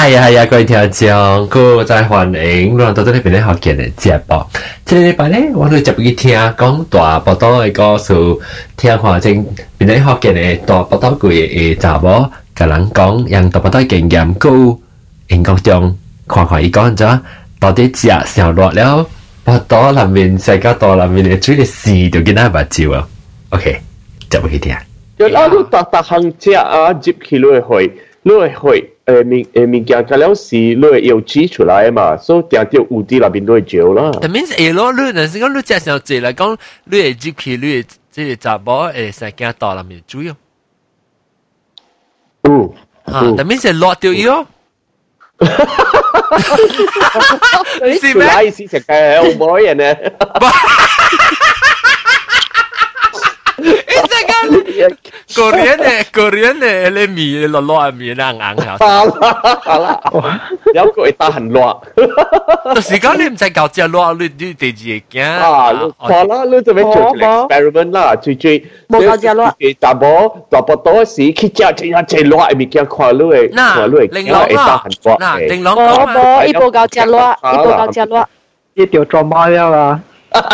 係啊，各位聽眾，佢再歡迎，我到咗呢邊咧學見嘅節目。這個禮拜咧，我哋就去聽講大報道嘅故事，聽看正邊咧學見嘅大報道佢嘅查某，甲人講讓大報道經驗高，英國中看伊講咗，到底食上落了，報道內面世界大內面嘅水嘅事就見到目睭啊。OK， 就去聽。 有啦，你逐項食啊，接起落去，落去。物件加了是你會油脂出來嘛，所以定到有啲那邊都會焦啦。 但面係咯，你若是講你食上濟嚟講，你會接起你即係查某會使驚到內面水哦。但面係落掉伊哦。 是咩？來是食嘅好唔好人呢？Korean 嘅你米落米硬下。好啦，有個會打很熱。 就是講你唔使搞只熱，你第二驚。 好啦，你做咩做 experiment 啦？最冇搞只熱。 大波多時去食熱嘅物件，看你會打很熱。 玲瑯冇，伊冇搞只熱，伊冇搞只熱。 伊條做貓了啊！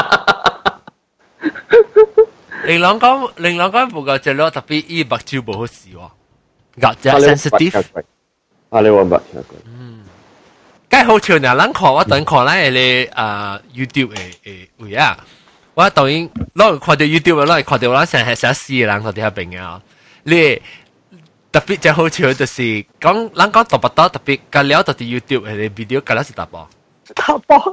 玲瑯講無夠隻咯，特別伊目睭無好視喎，咬只 sensitive。 你話乜？ 梗係好笑呢！咱看我等看咱嘅YouTube 嘅位啊，我當然攞看到 YouTube 攞看到咱成係寫詩嘅人喺啲邊啊，你特別就好笑就是講咱講大不多特別隔了到啲 YouTube 嘅 video 隔了是大波。 打波，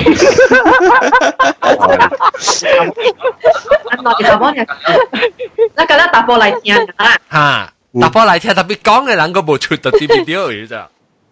那個打波嚟聽啊！ 嚇，打波嚟聽，特別講嘅人個冇出到啲 video 嘅咋？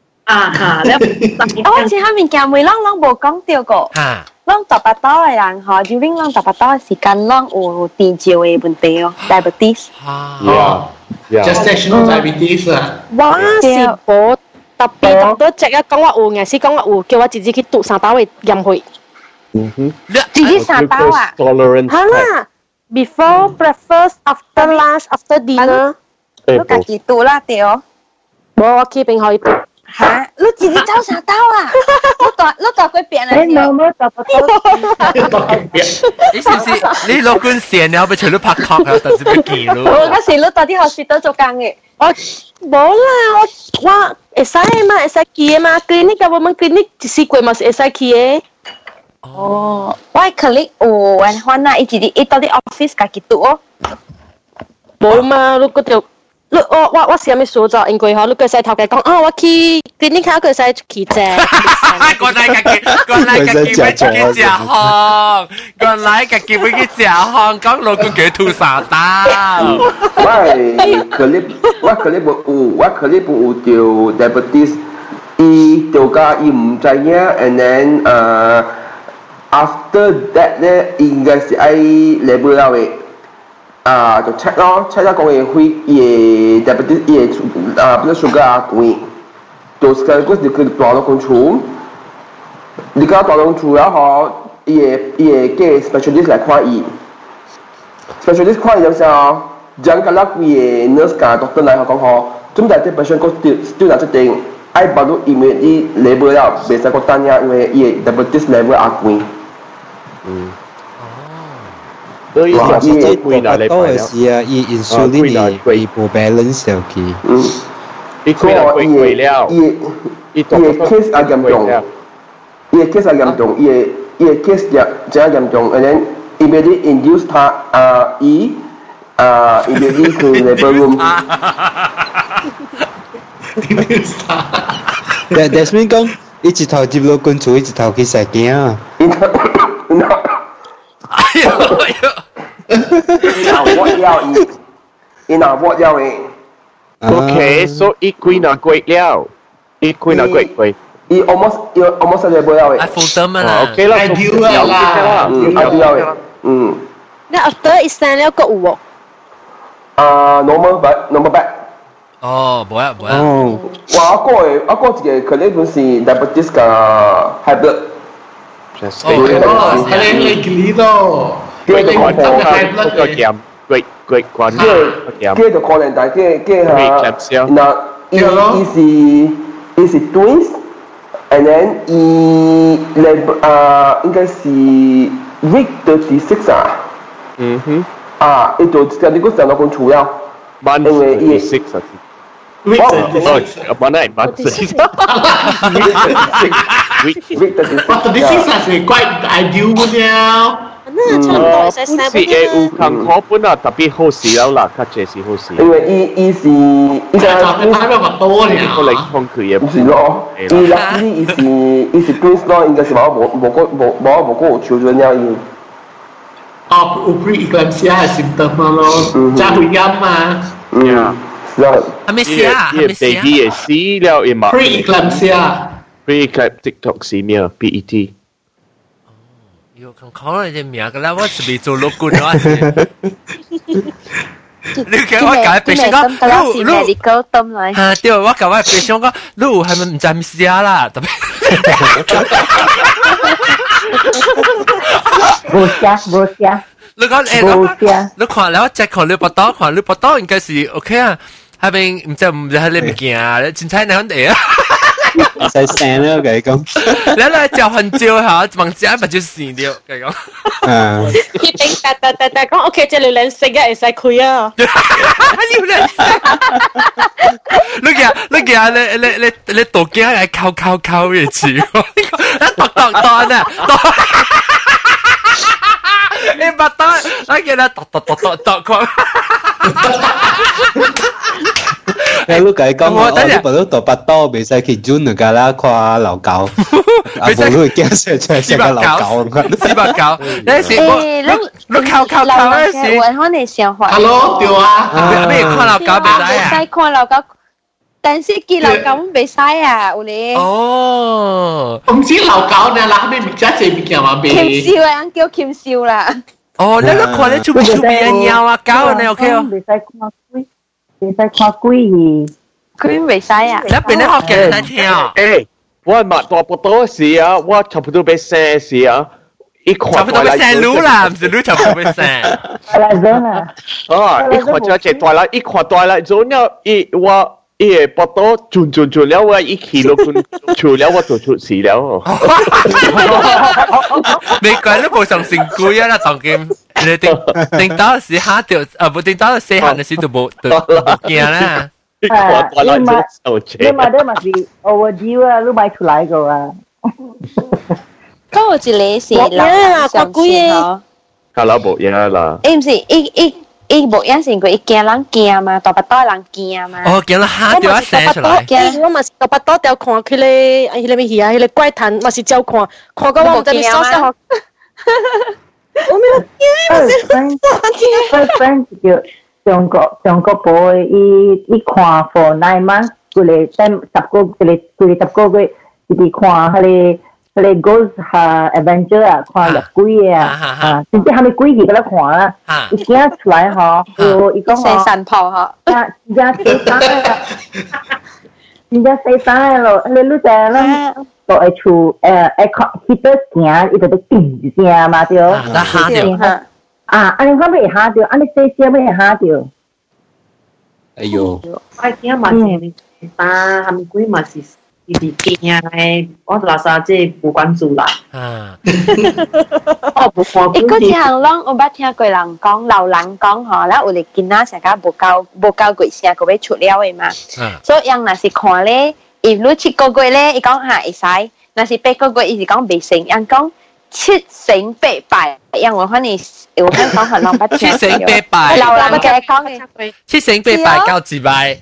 我前下面見每啷冇講到過，啷打不到嘅人嗬，就令啷打不到嘅時間，啷有電照嘅問題哦 ，diabetes。 gestational diabetes 啊！ 我是冇。特別讀到只啊，講我有，硬是講我有，叫我自己去讀三刀嘅鹽去。自己三刀啊？嚇啦 ！Before breakfast, after lunch, after dinner， 你自己讀啦，對哦。冇，我去邊可以讀。嚇！你自己走三刀啊？你讀佢邊嚟？冇讀不到。 你是唔是你老官成日俾除咗拍拖啊？但是俾記咯。 我嗰時你讀啲學士都做緊嘅。我冇啦，我會使嘛，會使去嘛。clinic 嘅我們 clinic 一時過嘛是會使去嘅。哦，我係 clinic 有人換啦，伊自己伊到啲 office 家己讀哦。冇嘛，你嗰條，你我是有咩所做？應該嗬，你個細頭嘅講，我去 clinic 佢個細去啫。 過來家己要去食項，過來家己要去食項，講老公叫吐沙刀。 我有條 diabetes， 伊條家伊唔知影 ，and then after that 咧，應該是愛 level 了嘅，就 check 咯 ，check 咗講嘅會伊嘅 diabetes 伊嘅blood sugar 啊高，到時間嗰時佢大到control，你講大到control了嗬，伊嘅 specialist 來看伊 ，specialist 看伊就啥？Jangan kalau we nurse ka doktor lain kau kau, cuma dah patient kau still dah setting, I baru immediately label lah. Biasa kau tanya we diabetes level aku. 所以實際攰啦，你嗰時啊，伊 insulin 伊冇 balance 掉佢。 伊攰啦，攰了。伊 case 啊嚴重，伊 case 啊嚴重，伊 case 真嚴重，and then immediately induce 他immediately to labor room. That's mean 講，一直頭接落關注，一直頭去食驚啊！ what 了誒 ？Okay, so 伊攰啦攰了，伊攰啦攰。 伊 almost labor 了誒。 I full term 啦。 Okay 啦 ，ideal 啦 ，ideal 誒。 你 after 一生了個有喎 ？normal back。 哦，冇啊。 哇！我個一個可能就是 diabetes 個 high blood。 係你記咯。 佢哋講嗰個鹽，佢講佢就可能大嘅嚇，嗱，伊是 is twins，and then 應該是 week 36啊。啊，伊就上個上到講除了，因為伊 36啊。 Week mana mana Week 36 是 quite ideal 嘅。 是有坎坷本啊，特別好事了啦，較這是好事。 因為伊是就睇到個多咧， 個領空佢嘅。 是咯，伊是 twins 咯，應該是冇個有 children 了伊。 哦，有 pre-eclampsia 嘅 symptom 咯，加會陰嘛。 還沒死啊，還沒死啊。 baby 也死了，也嘛。pre-eclamptic toxemia (PET)。 有看可能隻名個啦，我是未做落過咗。你叫我解病先講，你 medical term 嚟。 嚇，對，我教我病先講，你係咪唔知唔死啊啦？特別。 冇聲。 你講誒，你看了只看你報道，看你報道應該是 OK 啊，係咪唔知係你唔見啊？你真係你肯定啊？ 細聲啦，佢講。 你嚟就很少嚇，望只咪就死掉，佢講。 佢頂但講 OK， 即係你識嘅，會使開啊。 要兩識。你見你讀經係靠嘅詞，一讀啊。你把刀，我見他剁佢。 你解講我呢部都剁把刀，未使去轉㗎啦，看老狗。啊，冇都會驚死出嚟個老狗。 四百九，那時你靠那時。 我可能想法。 Hello，對啊。 咩看老狗未使啊？ 使看老狗。但是見老狗唔俾使啊，有咧。 哦。唔知老狗呢，嗱咩物件這物件嘛？ 鉗燒啊，叫鉗燒啦。 哦，你看你出邊啊鳥啊狗你 OK 哦？ 未使看龜，未使看龜龜未使啊？ 你邊啲學嘅你聽啊？ 誒，我買大不多時啊，我差不多俾4時啊，一看差不多俾4路啦，唔是路差不多俾4。 來咗啦。 啊，一看就係大啦，一看大啦，咗了，我。伊個報道轉了，我一起落除了，我就出事了。 你講都冇上成句啊啦，當劍你定到時下掉，冇定到四行嘅時就冇驚啦。 你買是 overdue 啊，你買出來個啊。 嗰個是你是啦，上次咯。 卡拉冇嘢啦。 唔是伊無影成佢，伊驚人驚嘛，大巴多人驚嘛。 哦，驚人嚇掉一聲出來。 我嘛是大巴多掉看佢咧，迄個咩戲啊？迄個怪談，嘛是照看到我唔知咩收聲。我沒有驚。 friend 叫上個 boy， 伊看 for 9 months， 佢哋等10個月，伊看佢哋 Ghost 嚇 Adventure 啊，看入鬼啊，甚至係咪鬼戲嗰度看啦？伊驚出來嗬，伊講四神炮嗬， 真正四三咯，你รู้จัก啦？到ไอ้ชูฮิตเตอร์行，伊就得定一下嘛對。 那嚇掉。 安尼我未嚇掉，安尼細小未嚇掉。 哎呦！ 我驚嘛是，但係咪鬼嘛是？是驚嘅，我就話即係冇關注啦。我冇看。 伊個一項攏我捌聽過人講，老人講吼，咱有咧囡仔成家無夠幾聲，佢要出了嘅嘛。所以人若是看咧，伊如7個月咧，伊講嚇會使；若是8個月，伊是講未成。人講7成8敗，因為可能有香港可能捌聽。 7成8敗， 老人嘅講嘅。 7成8敗夠自敗。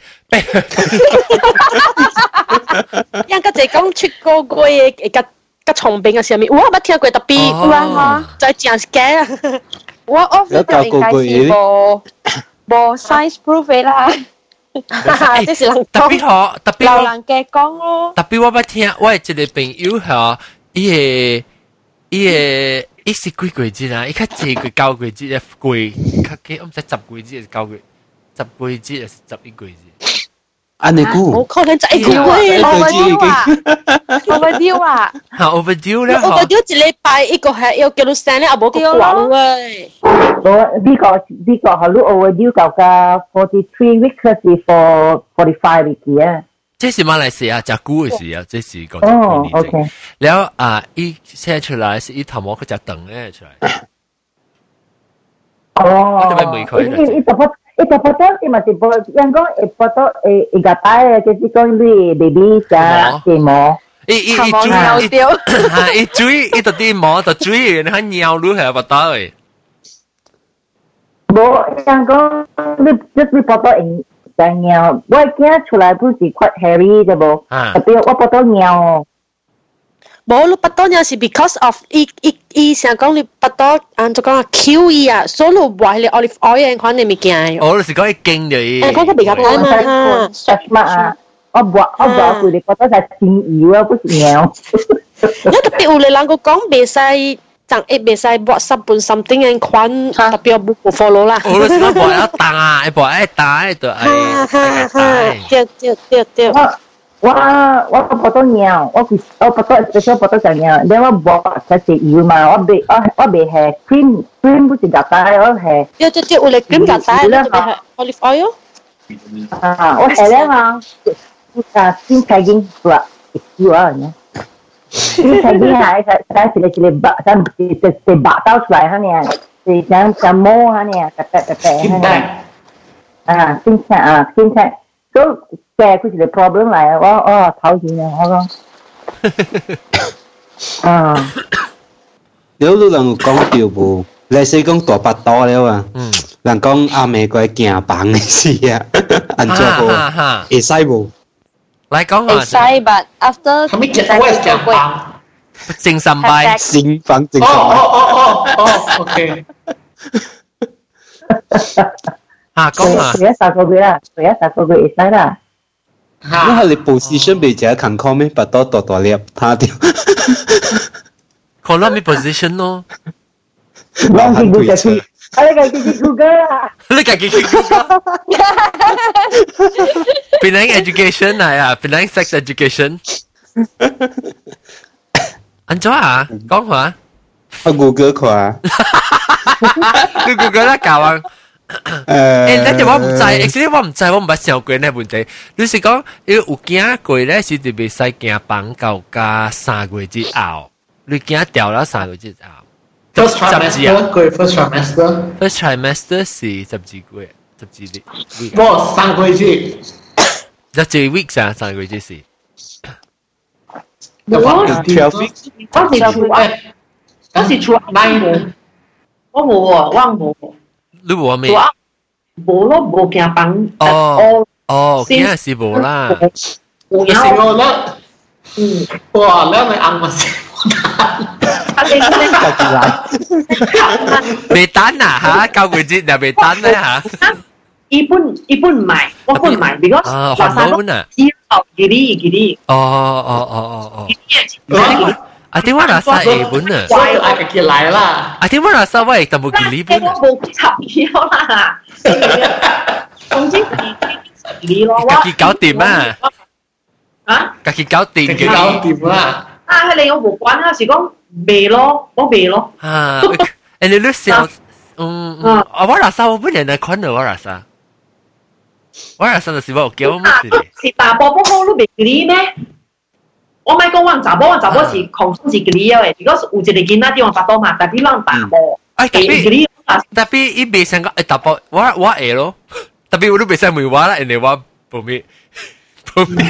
因個就講7個月嘅個重病嘅上面，我捌聽過特別，就係正嘅啊！我 offer 應該是無 science proof 嘅啦，即是人特別好，特別老人嘅講咯。 特別我捌聽，我係一個朋友嚇，伊是幾個月啊？伊較濟過9個月嘅貴，較幾我唔知10個月係9個月，10個月係11個月。 安尼估？ 冇可能再久啊 ！overdue 啊！ 嚇 overdue 咧 ！overdue 一禮拜一個係要叫你生咧，啊冇個講喂。 我呢個係你 overdue 夠㗎43 weeks 是 for 45 weeks 啊。 這是馬來西亞隻菇嘅事啊，這是個哦，OK。 然後伊寫出來是伊頭毛佢隻燈咧出來。 哦。 我哋咪佢。 伊就foto si masih foto yang kau foto gatai jadi kau ni baby sa demo。 伊追伊到啲毛就追，你看尿路係不到誒。 冇yang kau你 foto 在尿，我驚出來不是 quite hairy 啫噃，特別我 foto 尿。 冇，你 foto 尿是 because of 伊成講你 foto 按做講 Q 伊啊，所以你話你 olive oil 款你咪驚。 我是講伊經嘅伊。 嗰個比較大嘛 ，stretch 嘛，我佢哋 foto 係精油啊，不是尿。 因為特別有啲人佢講袂使。chẳng ít bị sai bỏ sắp bún something anh khoan đặc biệt bút của follow啦。 我是講bỏ一打，bỏ一打就係。 對。 我不多尿，我不多 special 不多就尿，你我bỏ cái gì油嘛，我別係 cream 不是夾帶，我係。 對，有嚟 cream 夾帶，你就係 olive oil。 我係咧嘛，先睇見啦，油啊呢。ini tadi saya sila bak saya bak tahu selai han ya saya samo han ya tepek han ya cinta so saya aku sila problem lah tahu gì nè không nếu lúc lần講掉部，你死講大八刀了啊，人講阿美國行房嘅事啊，按照部會使部。 來講啊， 會使 but after 他們講我係講房， 正三拜， 正房正三拜。 OK。 講啊， 佢一十個月啦，佢一十個月會使啦。 因為你 position 比較近 call 咩，把刀大粒，他掉。 可能咩 position 咯？ 我見佢就係你自己 Google 啊！ 你自己 Google。Penang education 嚟啊 ，Penang sex education。安怎啊？講下。 我 Google 看。 你 Google 啦教啊？但係我唔知 ，actually 我唔知，我唔捌想過呢問題。你是講，你有驚過咧，是特別使驚綁到加3個月之後，你驚掉咗3個月之後。 First trimester. First trimester 是12個月，12 week。 我3個月之。 12 weeks 啊，3個月之是。 12 weeks。嗰時出9，我冇喎，我冇。 你冇咩？ 冇咯，冇驚綁。 哦，驚是冇啦。 冇有啦。哇，แล้ว咪硬物先。 未單啊嚇，9個月又未單咧嚇。 一般唔買，我本買 because 韓文啊。 之後幾啲。 哦。啊，點解拿曬日本啊？ 所以嗌佢寄來啦。 啊，點解拿曬喂？但冇寄日本啊？ 我冇插票啦。總之係咯。 自己搞掂啊！ 啊？ 自己搞掂。 自己搞掂啦。 啊，係你我冇關啊，是講未咯，我未咯。 啊，誒你想，我拿曬我本人嚟看到我拿曬，我拿曬就是我叫我乜事？ 是大波波好都未記咩？我咪講揾查波是狂衝是記嘅，如果有一個囡仔啲我發到嘛，但係讓大波， 特別伊未想講誒大波，我會咯，特別我都未想問我啦，人哋話報咩？我未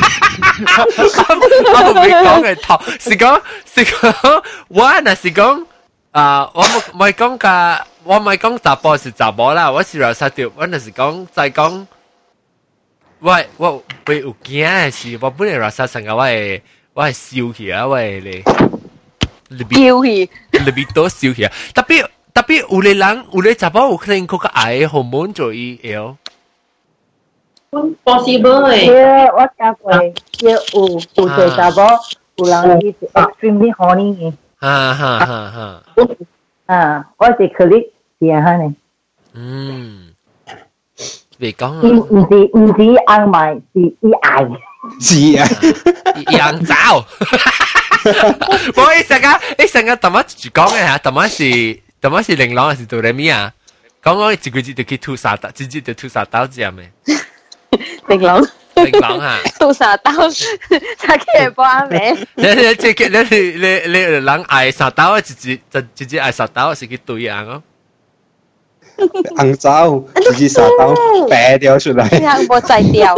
講嘅頭，是講，我嗱是講，我咪講㗎，我咪講查甫是查甫啦，我是老實條，我那是講再講，我有驚嘅是，我本來老實成個我係燒起啊，我係你多燒起啊，特別有啲人有啲查甫有可能嗰個癌荷爾蒙做伊有。 possible 誒， 我聽過，有啲查某有人係 extremely horny 嘅。我是 colleague 是啊呢。 未講啊。 唔止硬埋，是伊愛。 是啊， 羊爪。我一成個特麼住講嘅嚇，特麼是玲瑯還是杜麗咪啊？講一句就去吐沙刀，直接就吐沙刀這樣嘅。 玲瑯。 零郎啊， 杜沙刀，才可以幫咩？ 你人愛沙刀，直接愛沙刀是去對樣哦。 紅糟，直接沙刀掰掉出來。 這樣冇摘掉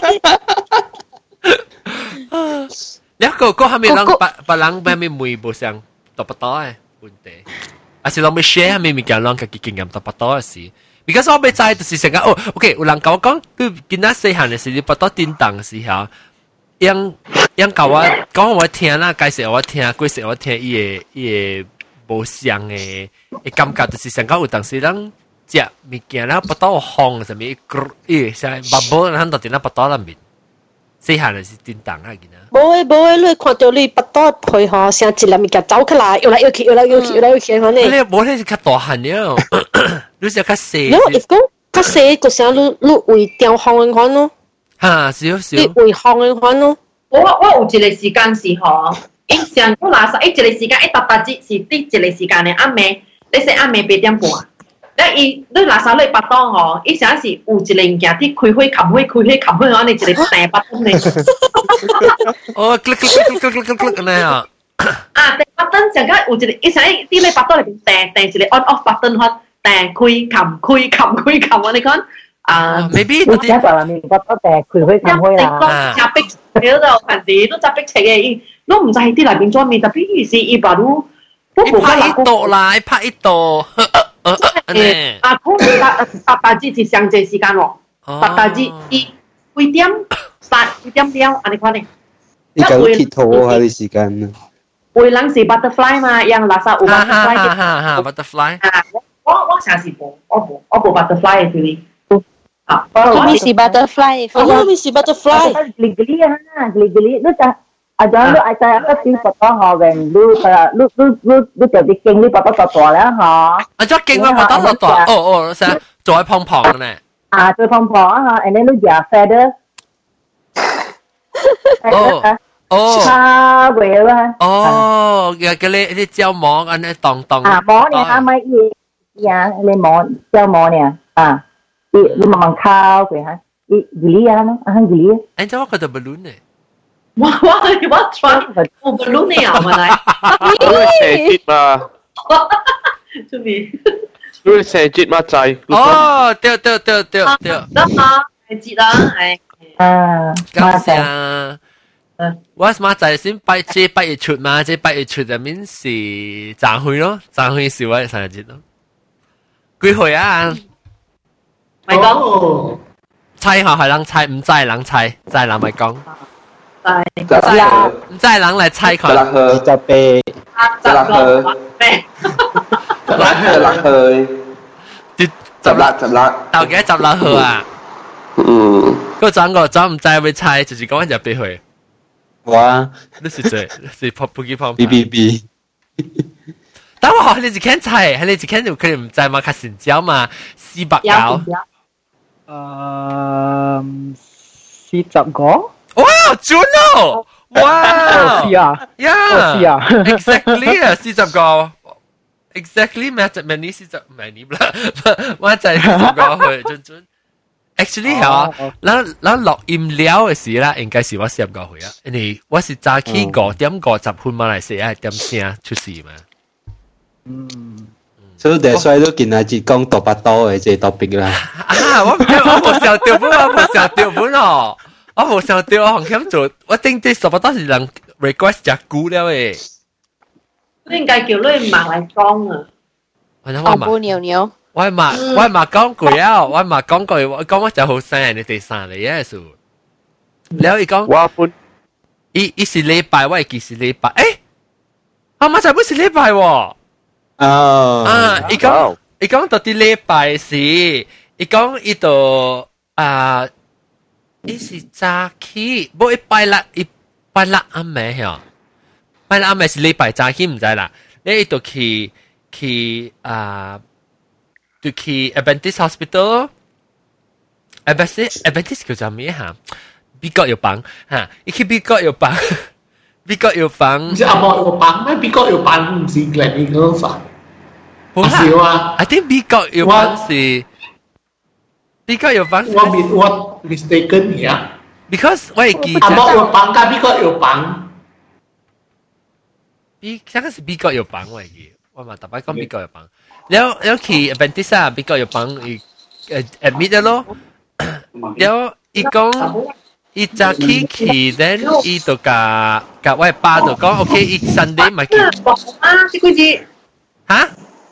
啊！一個係咪人別人咩咪每部上多不多嘅問題？還是人咪 share 咪咪講人嘅經驗多不多嘅事？because 我未知就是成個哦 ，OK， 有人講講，佢見到細漢嘅時，你不到叮當嘅時候，樣教我講我聽啦，介紹我聽，介紹我聽，伊個無相嘅感覺，就是成個有當時人食物件啦，不到烘什麼伊像 bubble， 咱到底那不到那面，細漢嘅是叮當啊，見啊。 冇，你看到你不到配合，成一粒物件走起來，搖來搖去，可能。 你冇你是較大漢了。你是較細， 因為講較細個時候，你會掉烘嘅款咯， 嚇少， 你會烘嘅款咯。 我有一個時間是嗬，伊上個垃圾，伊一個時間一搭搭節是啲一個時間嘅暗暝，你說暗暝8點半，你垃圾你巴當嗬，伊成是有一個物件啲開火冚火，我哋一個大巴燈嚟。 哦，click咁樣啊！ 啊，大巴燈成間有一個，伊成啲你巴燈裏邊訂一個 on off 巴燈開。但開冚，我哋講啊 ，maybe 嗰啲就係覺得但佢可以冚開啦。夾逼喺度，平時都夾逼斜嘅，都唔使喺啲裏邊裝面，特別是伊把都拍一度啦，拍一度。 啊，八大節是上節時間喎，八大節幾點幾點了？安尼講呢？ 你講鐵土嗰啲時間啊？ 會冷是 butterfly 嘛，樣垃圾有 butterfly 嘅。butterfly。 我成時冇，我冇 butterfly 嘅 feeling。 啊，我咪是 butterfly，我咪是 butterfly。 geli 啊 ，geli， 你就啊，仲你愛在一邊佛多學嘅，你就啲經你佛多大啦嚇。 啊，咗經我佛多大，哦，成做喺胖胖嘅呢。 啊，做胖胖啊，and then 你食 feather。 哦， 差嘅啦。 哦，嘅啲椒芒安尼當。 啊，芒你啱咪嘢。呀，你摸叫摸呢？啊，你慢慢烤佢哈，你geli啊咯，啊 geli。 哎，這我覺得 balloon 呢？ 我 try 我 balloon 呢啊，我嚟。 我射節嘛。 做咩？ 你射節嘛仔？ 哦，對。 得嘛，係節啦，係。 啊， 感謝。我馬仔先8月出嘛，這8月出入面是賺會咯，賺會是我生日節咯。幾歲啊？ 咪講， 猜下係人猜，唔知人猜，知人咪講。唔知人嚟猜佢。 就被。 十六。 到幾十六號啊？嗰陣我真唔知會猜，就是講入俾佢。 哇！ 你是最是不記旁。 B。 但我學你只看猜，你只看就佢哋唔知嘛，較成交嘛，400九。 40個。 哇，準哦！哇， 是啊， 呀， 是啊 ，exactly 啊，40個 ，exactly 咩40啦，我就係40個去準。Actually 係咱錄音料嘅時啦，應該是我40個去啊，因為我是早起5點50分馬來西亞點聲出事嘛。 所以第衰都見阿節講多巴多嘅即係 topic 啦。 啊，我冇上掉本，我冇上掉本哦，我冇上掉，我紅險做，我頂啲多巴多是人 request 隻股了誒。 應該叫你馬來講啊。 我不牛牛。 我嘛講過啊，我嘛講過，我講我就好聲，你哋散嚟嘅數。แล้วอีก講， 我本伊是禮拜，我係是禮拜，誒，阿媽就唔是禮拜喎。啊！伊講到啲禮拜是，伊講伊度啊，伊是早起，冇一拜六暗暝嚇，拜六暗暝是禮拜早起唔知啦。你伊度去啊，就去 Adventist Hospital，Adventist 叫做咩嚇？美國有幫嚇，伊去美國有幫。美國有幫， 唔是阿莫有幫咩？美國有幫唔是嚟美國啥？ 唔係啊 ，I think 美國有幫是美國有幫。 我 mistaken 呀。 ，because 我記阿冇有房，甲美國有房。 香港是美國有房我記，我嘛特別講美國有房。แล้ว去 Adventist 啊，美國有房admit 咗咯。แล้ว伊講。伊早起，then 伊就甲我爸就講 ，OK， 伊 Sunday 咪去。 啊，這個字。 嚇？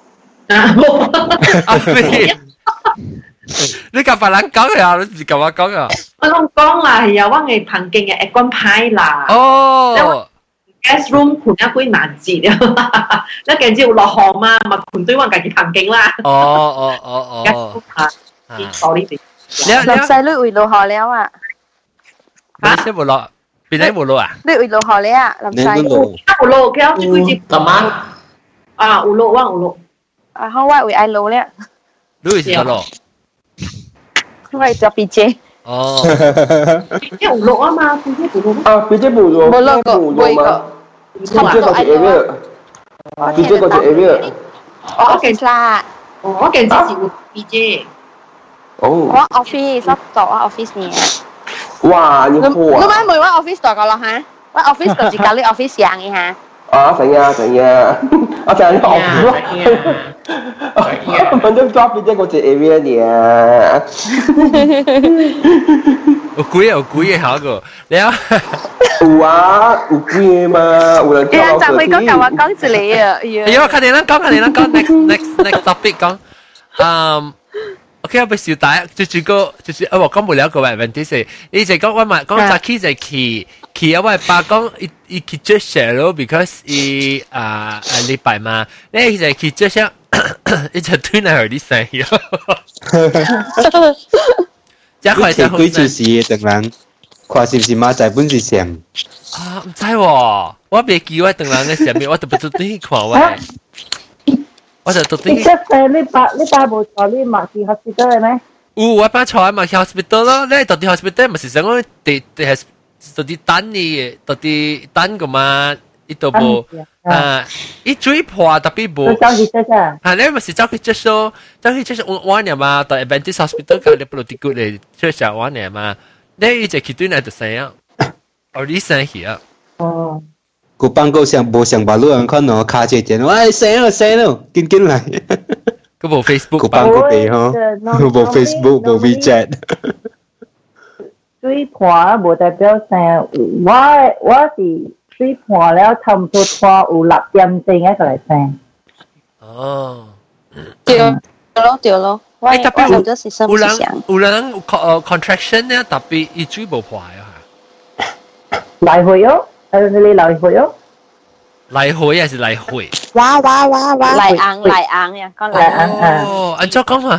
你甲別人講呀？你甲我講啊？ 我講啦，係啊，我係旁邊嘅一關牌啦。 哦。 guest room 困一幾難字啊！你近朝落雨嘛，咪困對我家己旁邊啦。 哦。 sorry， 林細女會落雨了啊！ 你先冇落，邊啲冇落啊？ 你會落雨了啊，林細。 有落，佢有呢句字。 幹嘛？ 啊，有落，我有落。 啊，我會愛落了。 你會點落？ 我會做 BJ。 哦。 BJ 有落啊嘛，BJ 有落。 啊，BJ 冇落。 冇落過，冇過。 BJ 嗰隻 area。BJ 嗰隻 area。 我見啦。 我見之前有 BJ。 哦。 我 office 做我 office 呢。 哇，你好啊！ 你買每我 office 度個咯嚇，我 office 度自己啲 office 樣嘅嚇。 啊，成啊！我成日學我都 drop 邊隻嗰隻 area 嘅。 有貴嘅下個，你啊？ 有啊，有貴嘅嘛，有人教我。 就會講教我講住你啊！ 哎呀，快點啦，講 next topic 講OK， 我俾小弟，就是我講無了個問題是，你就講我咪講早起就去啊，我爸講伊去做嘢咯 ，because 伊禮拜嘛，你就去做嘢，伊就推嚟去啲生意。一塊就好。 幾條事嘅等人，看是唔是馬仔本是上？ 啊，唔知喎，我未記我等人嘅上面，我特別做啲看喂。我就讀啲。 你爸冇坐呢麥記 hospital 嘅咩？ 我爸坐喺麥記 hospital 咯，你到啲 hospital 咪是想講地係到啲等嘅，到啲等個嘛，呢度冇一最破特別冇。 走去啫啫。 係你咪是走去接收玩嘅嘛，到 Adventist hospital 佢哋不如啲骨嚟接受玩嘅嘛，你一直去對嚟就成樣，我啲生氣啊。 哦。 個辦公上無上馬路人看我卡住電，喂死咯，緊嚟！ 佢冇 Facebook， 個辦公地嗬，冇 Facebook，冇 WeChat。 水盤無代表生，我是水盤了，差唔多拖有6點鐘一個嚟生。 哦， 對咯，我特別就是什麼想？ 有人contraction 咧，特別一水無破啊！ 來回哦。你來回哦， 來回還是來回？ 哇！來硬呀，講來硬。 哦，按照講嘛，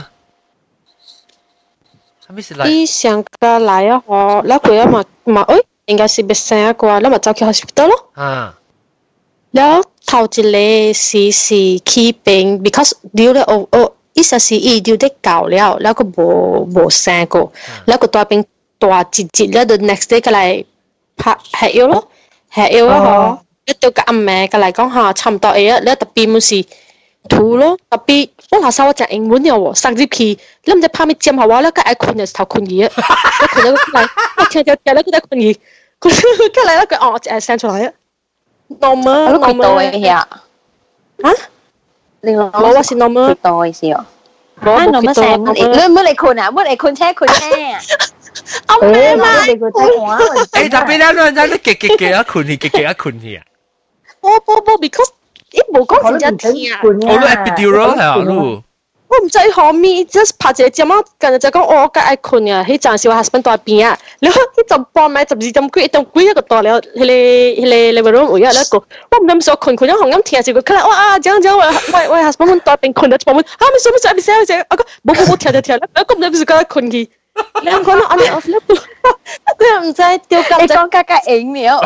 係咪是來？ 你上個來啊，我แล้ว佢啊嘛，應該是別生一個，แล้ว咪走去 hospital 咯。 啊， แล้ว頭一個是起病 ，because 掉咧一時是醫掉得夠了，แล้ว佢冇生過，แล้ว佢大病大節แล้ว the next day 佢嚟拍係藥咯。係要啊！一到個阿妹嘅嚟講嚇，差唔多嘢，你特別冇事吐咯，特別我下手我講英文嘅喎，上節期你唔知怕咩尖下話咧，佢愛困嘅頭困嘢，佢困咗嚟，我聽咧佢在困嘢，佢嚟咧佢我誒聲出來啊，normal 嘅啊，嚇？冇話是 normal 多嘅事哦，冇 normal 聲，你唔好嚟困啊，唔好嚟困車困車。阿妹嘛， 誒特別咧，人家都極啊困去啊！ 冇 ，because 一冇講真正聽啊！ 我都 epidural 係啊，路。 我唔知後面 just 拍隻針啊，近日就講我梗係困啊，迄陣時我 husband 在邊啊，你迄陣半暝12點幾，1點幾一個到了，迄個 room 位啊，一個我唔諗說困咗紅咁聽時佢佢嚟哇這樣喂 husband 在邊困咗半暝，啊咪說我講冇聽，我咁唔諗是佢困去。兩個都按我 flip 佢又唔使掉咁你講加影了。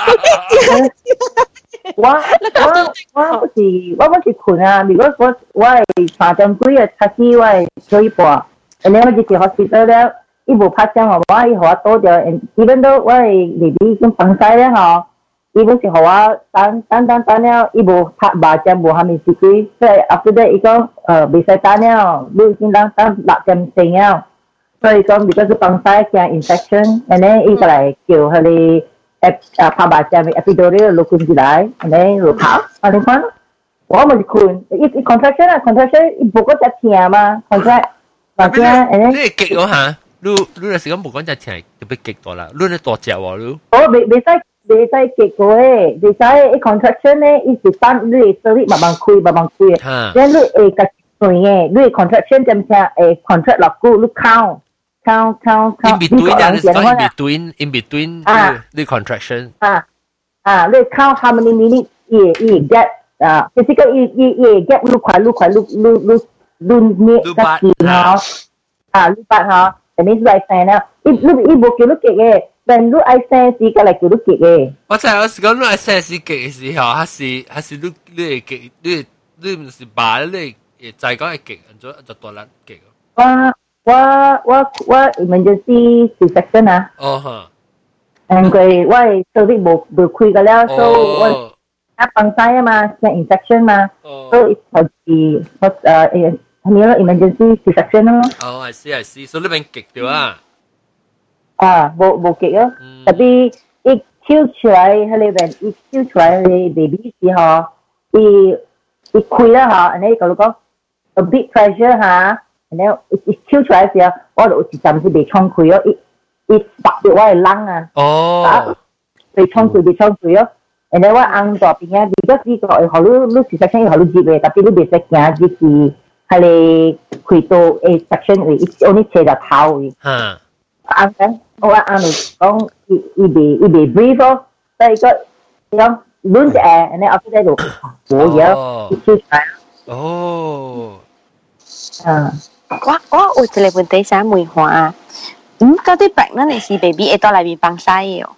我是困啊！如果我係3點幾啊，開始我係水半，然後我就去 hospital 了，伊無拍聲吼，我伊互我倒掉，even though 我係弟弟已經放曬了吼，伊本是互我等了，伊無拍麻將無蝦米事機，所以 after that 伊講未使等了，你已經等6點鐘了。 所以講，如果是幫曬驚 infection，然後伊個來叫佢哋拍麻將嘅 epidural 錄關起來，然後就跑，你看，我咪困，伊 contraction 啊 contraction， 伊無嗰隻痛嘛 contract， 麻將，然後你激咗下，你有時講無講隻痛，特別激到啦，你咧大隻喎你。 哦，未使激過誒，未使伊 contraction 咧，伊是等你手力慢慢開嘅，然後你會個斷嘅，你 contraction 點聽contract 落骨，你count。 In between the contraction. 你 count how many minutes 也 get physical 也 get 碌快捏個字哈，碌八哈，但係你係聲啦，一冇叫碌極嘅，但碌係聲時個嚟叫碌極嘅。 我就係講碌係聲時極嘅時候，還是碌係極，你唔是把你就係講係極，就多粒極。 我 emergency C-section 啊。 哦哈。 佢我係手力冇開㗎啦，所以我幫曬啊嘛，係 infection 嘛，所以係咩咯 emergency C-section 咯。 哦，I see，所以你邊極掉啊？ 冇極咯，特別一跳出來喺裏邊，一跳出來你 baby 時候，一開啦嚇，你講講 a big pressure 嚇。然後一跳出來嘅時候，我就有一陣時被衝開咯，一拔掉我嘅冷啊，被衝開咯。然後我硬咗邊啊，如果呢個係好你section係好接嘅，特別你別識行啲事，係你開到section 嘅，我呢斜就頭嘅。硬嘅，我硬到講一被 brief 咯，所以個講亂隻誒，然後我喺度冇嘢，一跳出來。 哦。 我有一個問題想問下，到底白人的是 baby 會到內面幫曬嘅哦？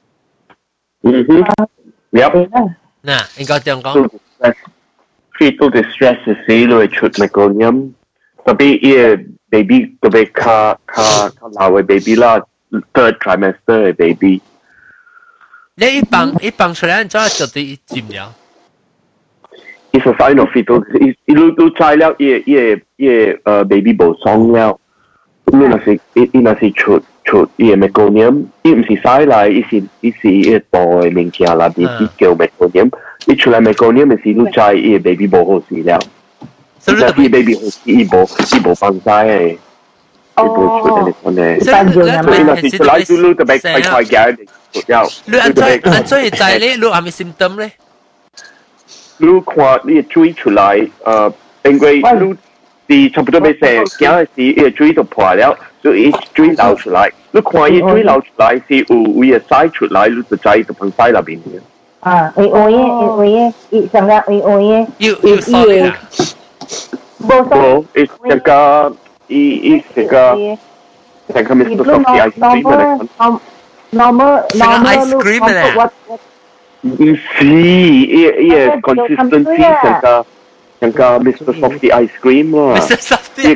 嗱，應該這樣講。 fetal distress 時，你會出 meconium，特別伊 baby 特別較老嘅 baby 啦 ，third trimester 嘅 baby。 你一幫出來，就啲佔了。 It's a sign of fetal. 你知了，baby 無爽了。你那是出meconium， 伊唔是曬來，伊是大嘅物件啦，伊叫 meconium。伊出來 meconium 嘅時，你知baby 無好事了。所以 baby 好事，伊無放曬嘅，伊無出嚟講嘅。所以那是出來，你特別快嘅出了。 你按怎會知咧？你係咪 symptom 咧？ 你看你水出來，因為你差不多要成行嘅時，伊水就破了，所以水流出來。你看伊水流出來是有伊嘅屎出來，你就知就放屎入邊嘅。 伊上個要掃啊！ 冇，伊成個Mr. Softee ice cream 嚟。 normal ice cream 嚟。 唔是，伊個 consistency 成個 Mr. Softee ice cream 啦。 Mr. Softee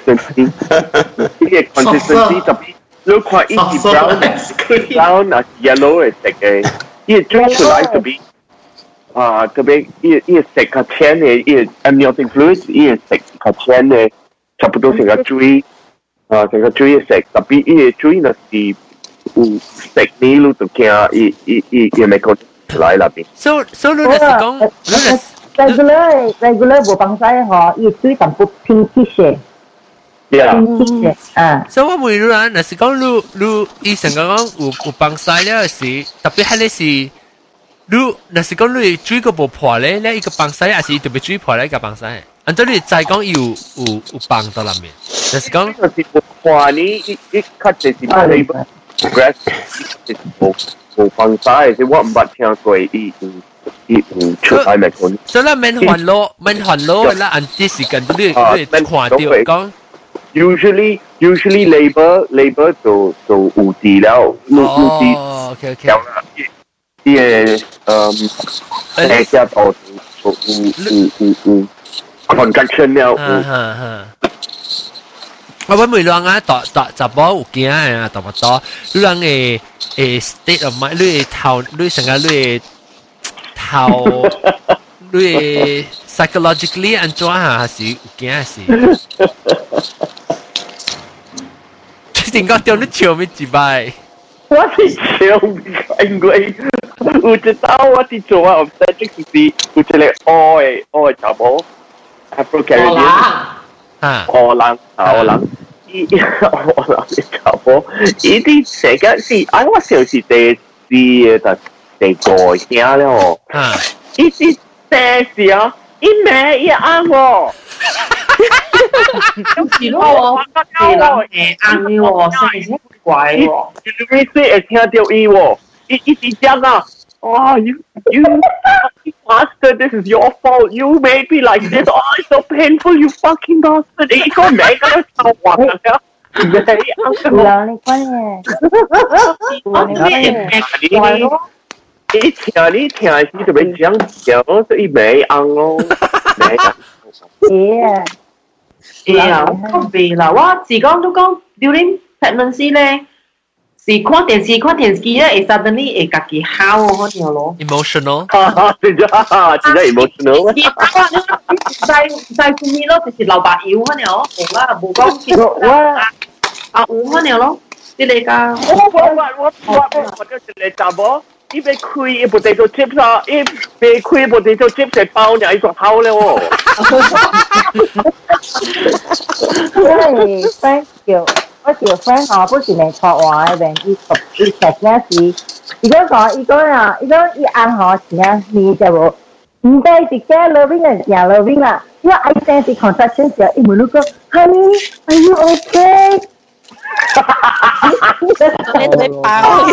consistency 特別，你看伊是 brown 啊 yellow 嘅色嘅，伊追出來特別特別伊色較淺嘅，伊 amniotic fluid 伊色較淺嘅，差不多成個水成個水嘅色，特別伊水若是有色呢，你就驚伊咪講。來那邊。 So 你是講 regular 無幫曬嗬，伊水淡薄 pinkish 嘅。pinkish 啊。 所以我問你啦，若是講你以前講有幫曬了時，特別係你是你若是講你水個無破咧，你一個幫曬，還是特別水破咧一個幫曬？按照你再講有幫到裡面，若是講是無破呢，一較就是冇 progress， 就是冇放曬，即我唔捌聽過伊出來咪講。 所以免煩惱啦，按啲時間你看到講。 Usually labor 就有治療，有治療啦。伊個大家都有 contraction 了。 我揾梅浪啊，雜波有驚啊，大不多。你人嘅state of mind，你成個你 psychologically 安怎啊？還是有驚是？ 定講掉你笑咩幾擺？ 我是笑，因為有一道我是做啊 obstetric 是有一個黑查某 Afro Caribbean 荷蘭，伊荷蘭嘅查某，伊啲成個是我想是第五聲了哦，伊是第四啊，伊咩伊啱喎。 是咯，係人係啱嘅喎，真係怪喎。 你會聽到伊喎，伊是講啊，哦，you bastard, this is your fault. You made me like this. Oh, it's so painful, you fucking bastard. 你個名咁樣臭話啊！ 你關嘢， 你聽是特別講笑，所以沒紅咯，沒紅。 我未啦，我自講都講 during pregnancy 咧，是看電視咧，會 suddenly 會家己喊嗰條咯。 emotional， 真係 emotional。 唔使注意咯，就是流白油嗰條，冇啦，冇講阿五嗰條咯，啲你㗎。 我就是嚟雜喎。伊被開一部potato chips 啊！伊被開一部potato chips 係包你一個口咧喎。 因為 friend 我條 friend 我不是嚟錯話嘅，伊食嗰時，如果講伊啱我時你就冇，唔該直接 loving 嘅時候 loving 啦，因為 I sense contraction 時候，伊問你講 ，Honey, are you okay？ 你對爆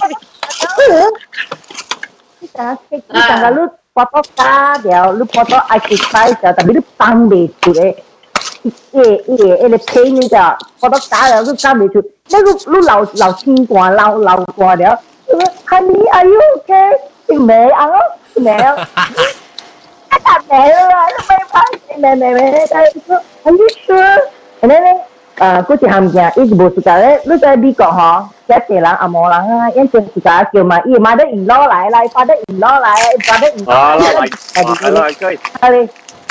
你lu foto ka dia lu foto exercise tapi lu pang de tu de ele pain ni da foto ka dia lu pang de tu lu lao xin qua lao qua dia honey are you okay mẹ ăn mẹ mẹ are you sure and then嗰時喊嘅，伊無時間咧，你在美國嗬，一世人阿冇人啊，因為時間叫嘛，伊買得唔攞來，發得唔攞來，發得唔攞來，係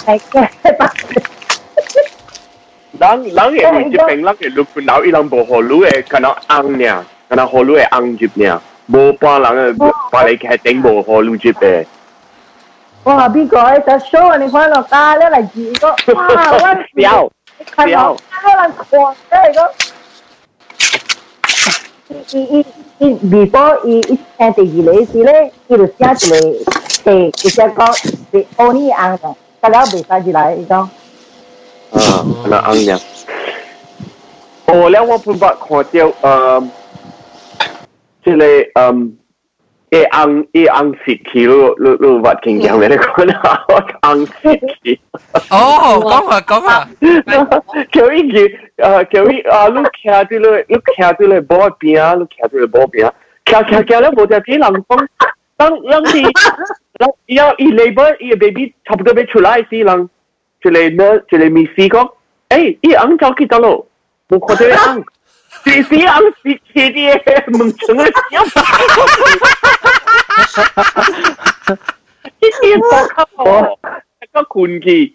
人嘅會接病，人嘅錄到伊人無好路嘅，可能紅呢，可能好路嘅紅接呢，無半人嘅把你係頂無好路接嘅。 哇！美國嘅就 show 你看落家咧嚟住個，哇！我看到人狂嚟個。before 伊聽第二類時咧，伊就寫一個伊寫講是歐尼紅嘅，大家未使入來伊講。 那紅嘅。哦，แล้ว我本來看到即係紅色氣你話傾向咩咧？講下紅色氣。 哦，講下。 叫伊你徛住咧波邊，你徛住咧波邊，徛咧無只啲人講，當時要伊 labor 伊 baby 差不多要出來時，人一個 miss 講，伊紅走去倒咯，冇看到紅，是紅是氣啲問成個笑。一個靠，一個困機。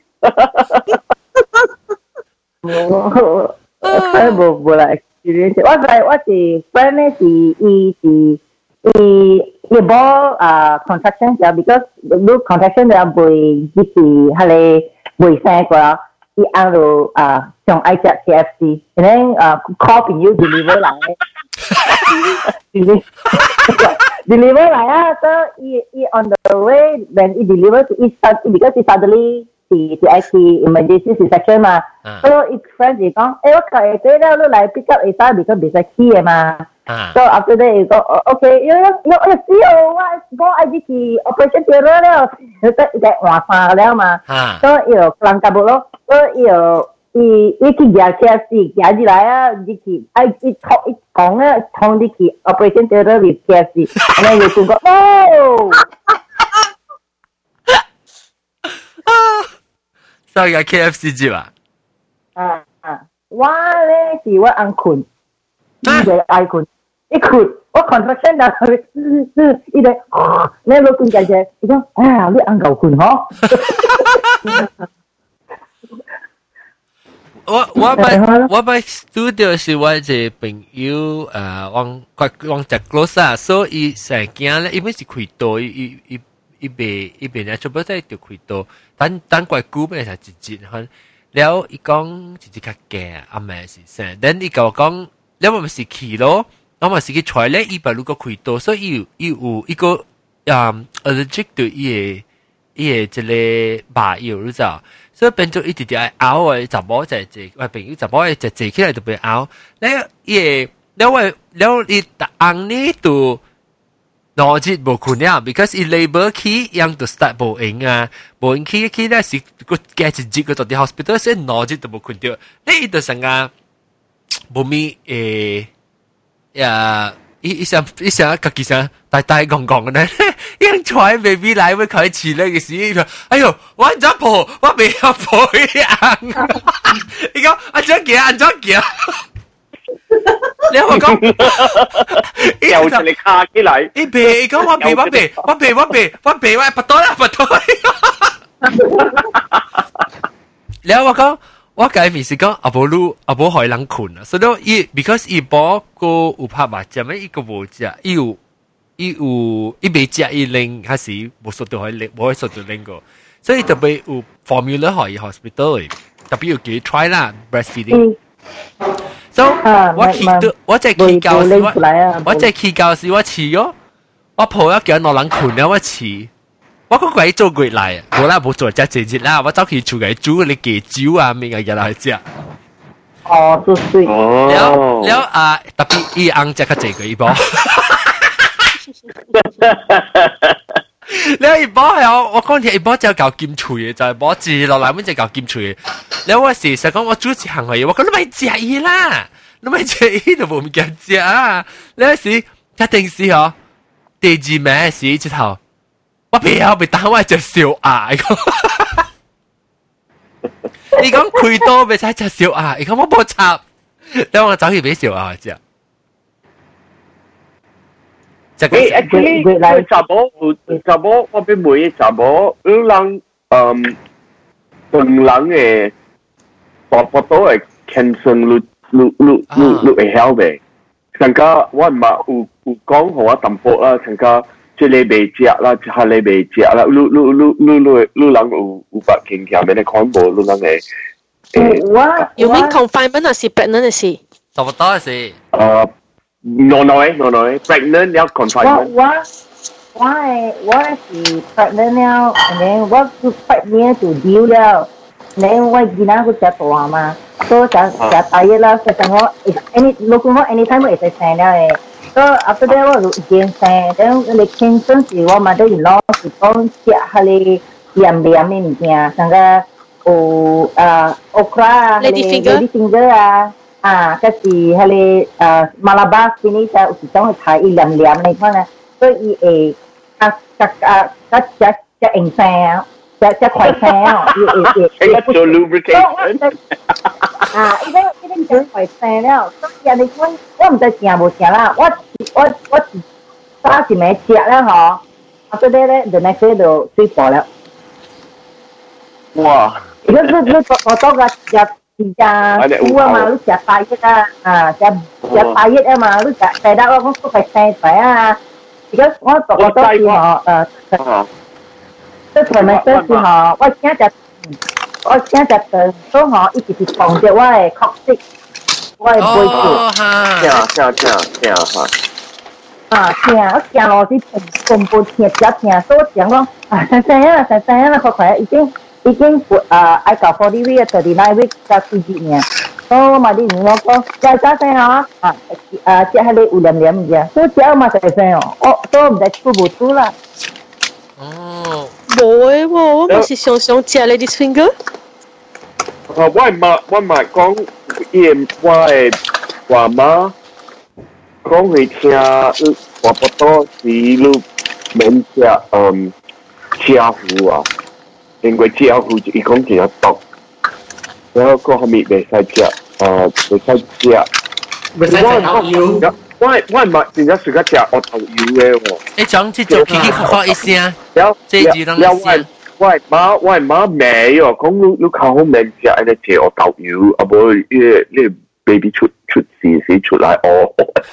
冇啦 experience，我是 friend 咧是伊冇contraction 就 because 你 contraction 就會即是係你會生過啦，伊按到上愛食 KFC，然後call 朋友 deliver 嚟，deliver 嚟啊，so 伊 on the way when 伊 deliver to each because he suddenly 是 actually emergency C-section 嘛，所以伊 friend 就講，我佢哋咧，你嚟 pick up 會使because 未使起嘅嘛。So after that 伊講 ，OK， 我愛去 operation theatre 了，佢在換衫了嘛，所以又人家冇咯，所以又伊去夾 KFC 夾入來啊，你去伊講啊，同你去 operation theatre with KFC，然後又講哦。 所以個 KFC 接啊？ 我咧是我按困，伊就愛困，一困我 contraction 就伊就，你老公姐姐，伊講，哎呀，你按夠困嗬？ 我咪 studio 是我一個朋友往只 close 啊，所以成件咧，因為是開刀，一邊咧，全部都係條開刀，等怪久咪係直接看，แล้ว伊講直接較驚，啊咪是先，等伊個講，แล้ว我咪是去咯，我咪是去採咧，伊把如果開刀，所以伊有一個allergic 對伊個即個麻藥你知道。所以變咗一直直拗嘅，就冇就係我朋友就冇就坐起來就俾拗。แล้ว伊อังนี้ตัวนอจิต冇困了 ，because 伊 labor 起樣就 start 冇用啊，冇用起咧是個加一節個到啲 hospital， 所以นอจิต就冇困掉。你伊就成個冇咪伊想自己想大講嘅咧，因在 baby 來會開始咧嘅時，哎呦，我唔知抱，我未有抱樣。你講安怎行？你我講， 又就你卡起嚟。 你別講我不多啦。你我講。我介面是講阿婆害人困啊，所以because 伊波個有拍麻將咩，伊個無食，伊未食伊拎，還是無速度可以速度拎個，所以特別有 formula 可以 hospital 嘅，特別要叫 try 啦 breastfeeding。所以我只去教時，我試咗，我抱一叫攞人困了，我試。我嗰鬼做鬼嚟，冇做只節啦，我走去廚嘅煮你嘅酒啊，咩嘅嘢嚟食。 哦，都對。 แล้ว特別伊昂只較濟個一波。แล้ว一波係我講起一波就搞金脆嘅，就係波字落嚟，咁就搞金脆嘅。แล้ว我時實講我煮一行嘅嘢，我講你咪食伊啦，你咪食伊就冇咁驚食啊。แล้ว時一定是嗬，第二名時之後。我不要被打我隻小牙，你講開刀咪使隻小牙，你講我冇插，等我走去俾小牙食。 actually 查某我俾每查某，有人本人嘅大部都係 cancer 率會好嘅，成個我唔係有講好啊淡薄啦，成個。即你未食啦，即係你未食啦，你人有法傾向咩？你看無，你人係有冇 confinement 還是 pregnant 嘅事？ 差不多嘅事。 no pregnant 了 confinement。 我是 pregnant 了，然後我是 pregnant 就丟了，然後我囡仔佢食大嘛，所以食大嘢啦，所以我如果我 anytime 我會使生了嘅。So after that 我就健生，等你健身時我咪都要攞是講食下你黏嘅物件，像個有okra 啊，lady finger 啊，嗰是下你Malabar spinach 有時種去睇伊黏你看咧，所以伊會隻硬生，隻快生啊， 伊會做 lubrication。 依啲就快生了，所以人哋講我唔知食無食啦，我打一枚食啦嗬，after that 咧，the next day 就水破了。 哇！ 你我多個食菇啊嘛，你食大葉啊，食大葉啊嘛，你食得我都係生仔啊。而家我多時嗬即係咪多時嗬，我請隻對都嗬，一直是防着我嘅確實，我嘅背部。 聽我行路是全部聽，所以我講生啦，快已經愛搞40 week 39 week 加4節呢。所以我咪啲我講再生嗬，即係你有黏嘅，所以只嘛就生哦，所以唔使出唔出啦。 哦，冇誒喎，我咪是想食 lady finger。 我咪講，我嘅爸媽講佢聽，差不多是你免食車糊啊，因為車糊伊講其實毒，然後個後面未使食，未使食。 未使食牛油。 我唔係真係食得食我頭油嘅喎。 你講即做奇奇怪怪一聲，這就能我媽未哦，講你靠好命食，安尼食我豆油，啊無你 baby 出事時出來哦。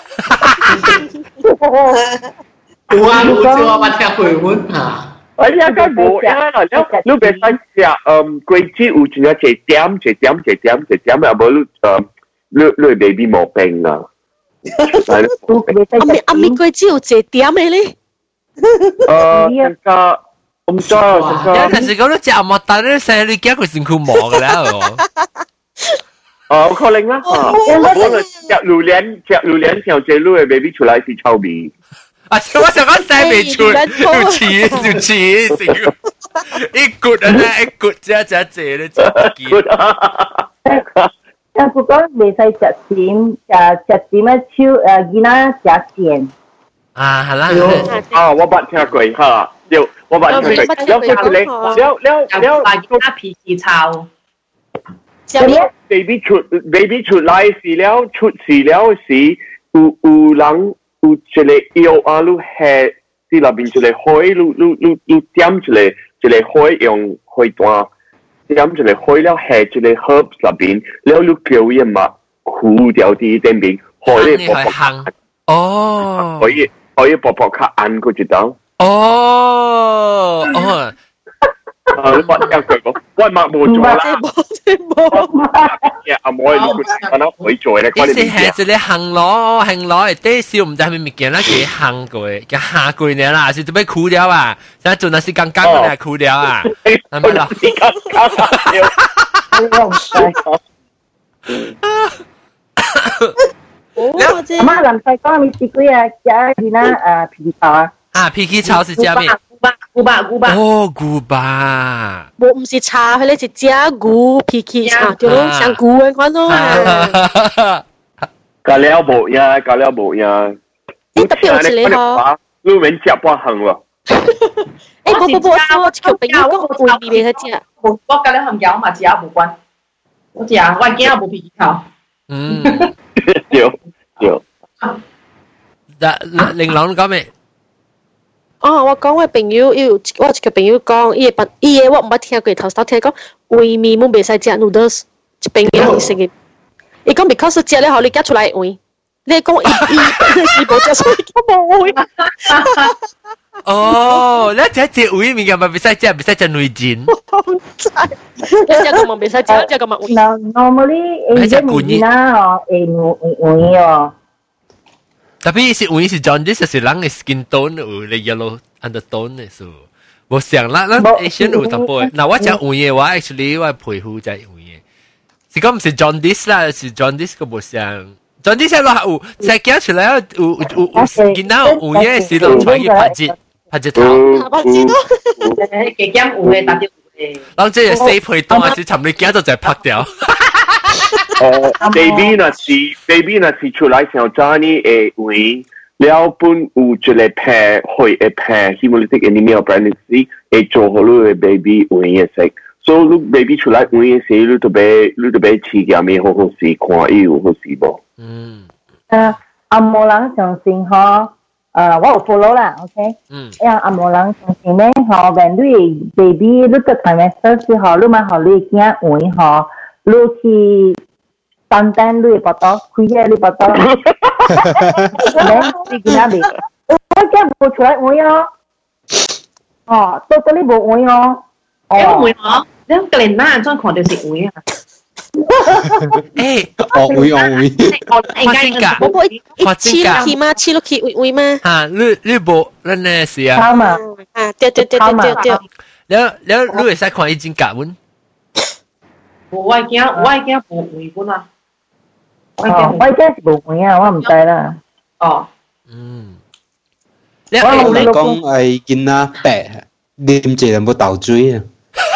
有啊，有隻我捌聽過阮嚇。 哎呀，梗冇呀啦，你別使食桂枝有真係一點，啊無你 baby 冇病啊。 阿咪桂枝有一點嘅咧。 更加。我唔知啊， 有陣時講到食莫但咧，成你驚佢身軀磨嘅啦， 可能啦，可能食榴蓮上隻路嘅 baby 出來是臭味。 啊！我想講西味出，要似，一骨啊咧，一骨只咧， 但不過未使食甜啊超囡仔食甜。 啊，係啦， 我捌聽過嚇。我話佢打脾氣臭。 baby 出來時了，出事了時，有人有一個藥啊，你下啲入邊一個海，你點一個海用海彈，點一個海了下一個 herbs 入邊，了你叫嘢嘛，苦掉啲頂邊，海咧薄薄， 哦， 可以薄薄卡按佢一刀。 哦， 你話聽佢講，喂，抹冇做啦，阿妹你佢能可以做咧， 關你係就你行攞，啲少唔知係咪物件啦，幾行過，幾下過呢啦，是做咩苦掉啊？想做那是剛剛嗰啲苦掉啊？係咪啦？ 媽林細講你自己啊，食啲啦皮草啊。 啊，脾氣臭是食咩？ 牛巴。 哦，牛巴。 我唔是茶，佢哋是食牛脾氣茶，就像牛嘅款咯。 咖喱冇呀。 你特別有一個嗬， 你免食半行喎。 我條朋友講會味佢食。 我咖喱含椒嘛，食無關。我食，我驚也無脾氣臭。 有。 玲瑯講咩？ 我講我朋友，我一個朋友講，伊個我唔捌聽過，頭先聽講胃面冇袂使食 noodles， 一朋友食嘅。伊講 because 食了後你夾出來胃，你講伊冇食，所以我冇胃。 哦，你食胃面嘅咪袂使食內臟。 唔知，你食個咪袂使食，食個咪胃。 Normally，你食骨啦，胃哦。 特別是胃是 jaundice 就是人嘅 skin tone 有咧 yellow undertone 嘅數，無像咱 Asian 有淡薄。嗱我食胃嘅話 ，actually 我皮膚就係胃嘅，是講唔是 jaundice 啦，是 jaundice 個無像 jaundice 落有食驚出來有見到胃嘅時落出去拍隻頭， 拍隻頭， 幾驚胃嘅打啲胃。 然後即係死皮凍還是尋你驚到就係拍掉。 baby 那是出來上早呢誒胃，了本有一個片會一片 hemolytic anemia pregnancy 會做好你嘅 baby 胃嘅食，所以你 baby 出來胃嘅時，你特別飼嘅咩好事，看伊有好事無？ 阿無人相信嗬，我有 follow 啦 ，OK，阿無人相信咧，嗬，wenn你 baby 你個 trimester 之後，你咪學你驚胃嗬，你去。單單你報道，開嘢你報道，你見下未？我驚冇出來會哦，到你冇會哦， 有會哦，你個人哪樣看到是會啊？ 會， 我黐去嗎？黐落去會嗎？ 嚇，你冇，咱呢是啊？ 啱啊， 對， 了，你會使看已經夾穩？ 我驚冇會本啊！ 我而家是冇會啊，我唔知啦。 你講係見啊白，啉住有冇豆水啊？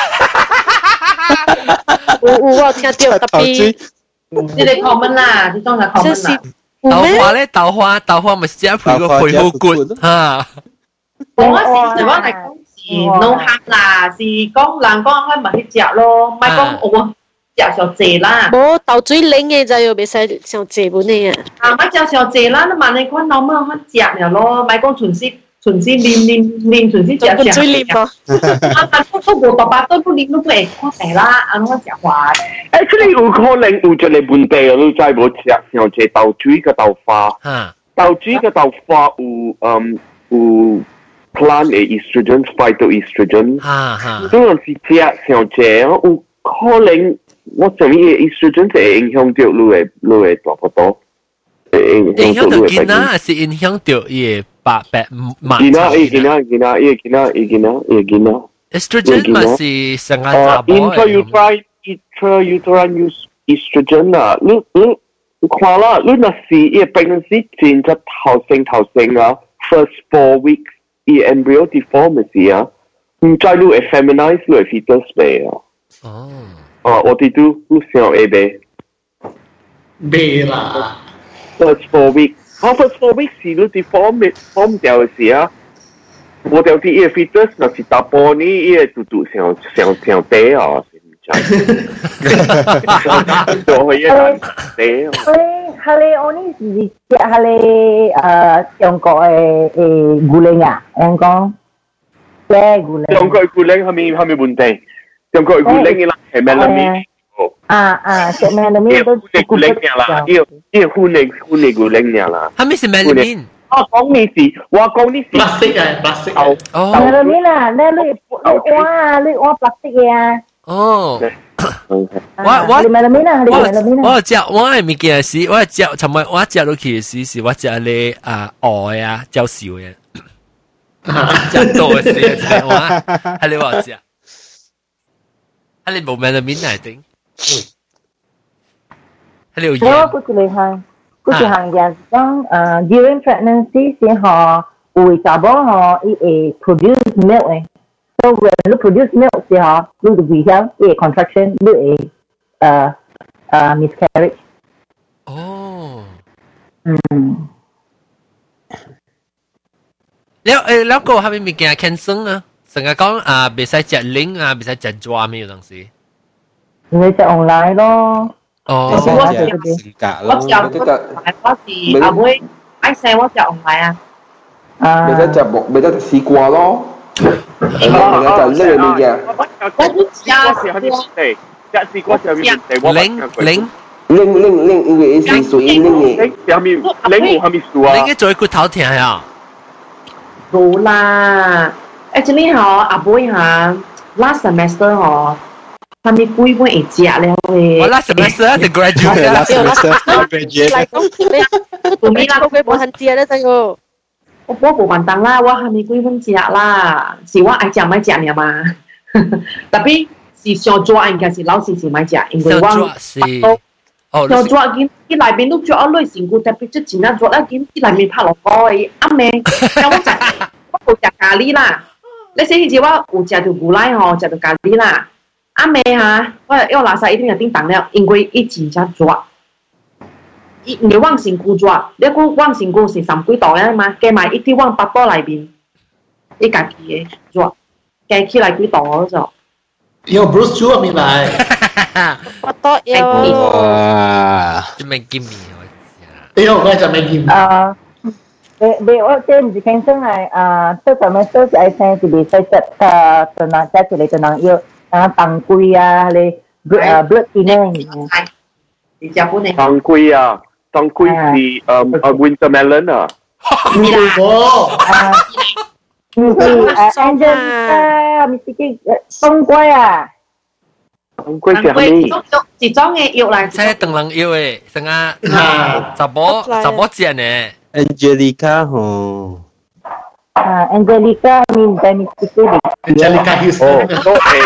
我聽到特別。 你哋 comment 啦，你當係 comment 啦。 豆花咪食配個配好骨嚇。 我是講係講是 no harm 啦，是講人講開咪去食咯，唔係講我。食上濟啦， 冇豆水冷嘅就要袂使上濟本嘅啊。 咪食上濟啦，你萬你看老媽看食了咯，咪講純粹純先念純先食最念咯。 都無爸爸都念都會看病啦，安怎食話？ 你有可能有一個問題，你知無食上隻豆水個豆花，豆水個豆花有plant 嘅 estrogen、phytoestrogen，呢陣時食上隻有可能我上面嘅 estrogen 就會影響到你嘅大不多， 影響到囡仔還是影響到伊白麻囡仔 estrogen 嘛是成個查某intrauterine estrogen 啊，你看啦，你若是伊個 pregnancy 前就頭生啊 ，first 4 weeks 伊 embryo deform 時啊，唔知你會 feminize 你會 fetus 未啊？我哋都想會未啦 ，first 4 weeks。first 4 weeks 是你 deform 掉嘅時啊，我掉啲伊個 fetus 若是大波呢，伊個嘟嘟上低啊，是唔知。做去一單低。 係你我呢時只係你中國嘅古靈啊，香港嘅古靈。 中國古靈係咪問題？中國古靈嘅係咩啦？ 食咩啦？咩都古靈嘅啦，呢個婚禮古靈嘅啦。 係咪是咩啦？ 我講呢事， 白色嘅白色嘅。 哦。係啦，咩啦？你挖白色嘅啊？ 哦。 我食我係物件是，我食尋日我食落去時是我食你鵝啊，照燒嘅，食多嘅時係我係你話食，係你冇咩的面嚟頂，係你有嘢。 我估住行嘅講during pregnancy 時候會查某嗬，伊會 produce milk 嘅。So when you produce milk 時候，你就會響伊 contraction， 你會miscarriage。 哦。แล้วก็係咪物件健康啊？成日講別使食零啊，別使食抓咩東西？ 你食 online 咯。 我是阿妹愛食我食 online 啊。 未得試過咯。就呢樣嘢嘅。 我都食零，因為是屬於零嘅。 零係咪數啊？ 零嘅做骨頭疼啊？ 冇啦，actually 阿妹last semester 係咪幾本會食咧？ 我 last semester 係 graduate，last semester graduate。嚟講，你啦，佢冇肯食咧，真個。 我冇辦當啦，我係咪幾本食啦？是我愛食咪食嘅嘛。特別是上桌應該是老師是咪食，因為我上桌見啲內邊都着一類成個特別即前一桌一見啲內面拍落去，啱咩？我食咖喱啦，你寫起我有食到牛奶嗬，食到咖喱啦，啱咩嚇？我垃圾一定係叮當了，因為一前只桌。你往成個咗，你個往成個是3幾度啊嘛，加埋一啲往8度裏邊，你家己嘅咗，加起來幾度咗？ 有 Bruce Chu 咪來 8度有。 哇！做咩見面啊？ 我就未見。 我即唔是傾生係都咁樣都是愛聽是別使食就能即係你就能要當歸啊，你blood thinner。 你食本嚟？ 當歸啊！當歸是wintermelon 啊， 唔係冬瓜啊， 冬瓜是咩？ 是裝嘅藥嚟， 即係燈籠藥誒，成啊，雜波正呢 ，Angelica 嗬 ，Angelica 面在咪識嘅 ，Angelica Houston， 都係。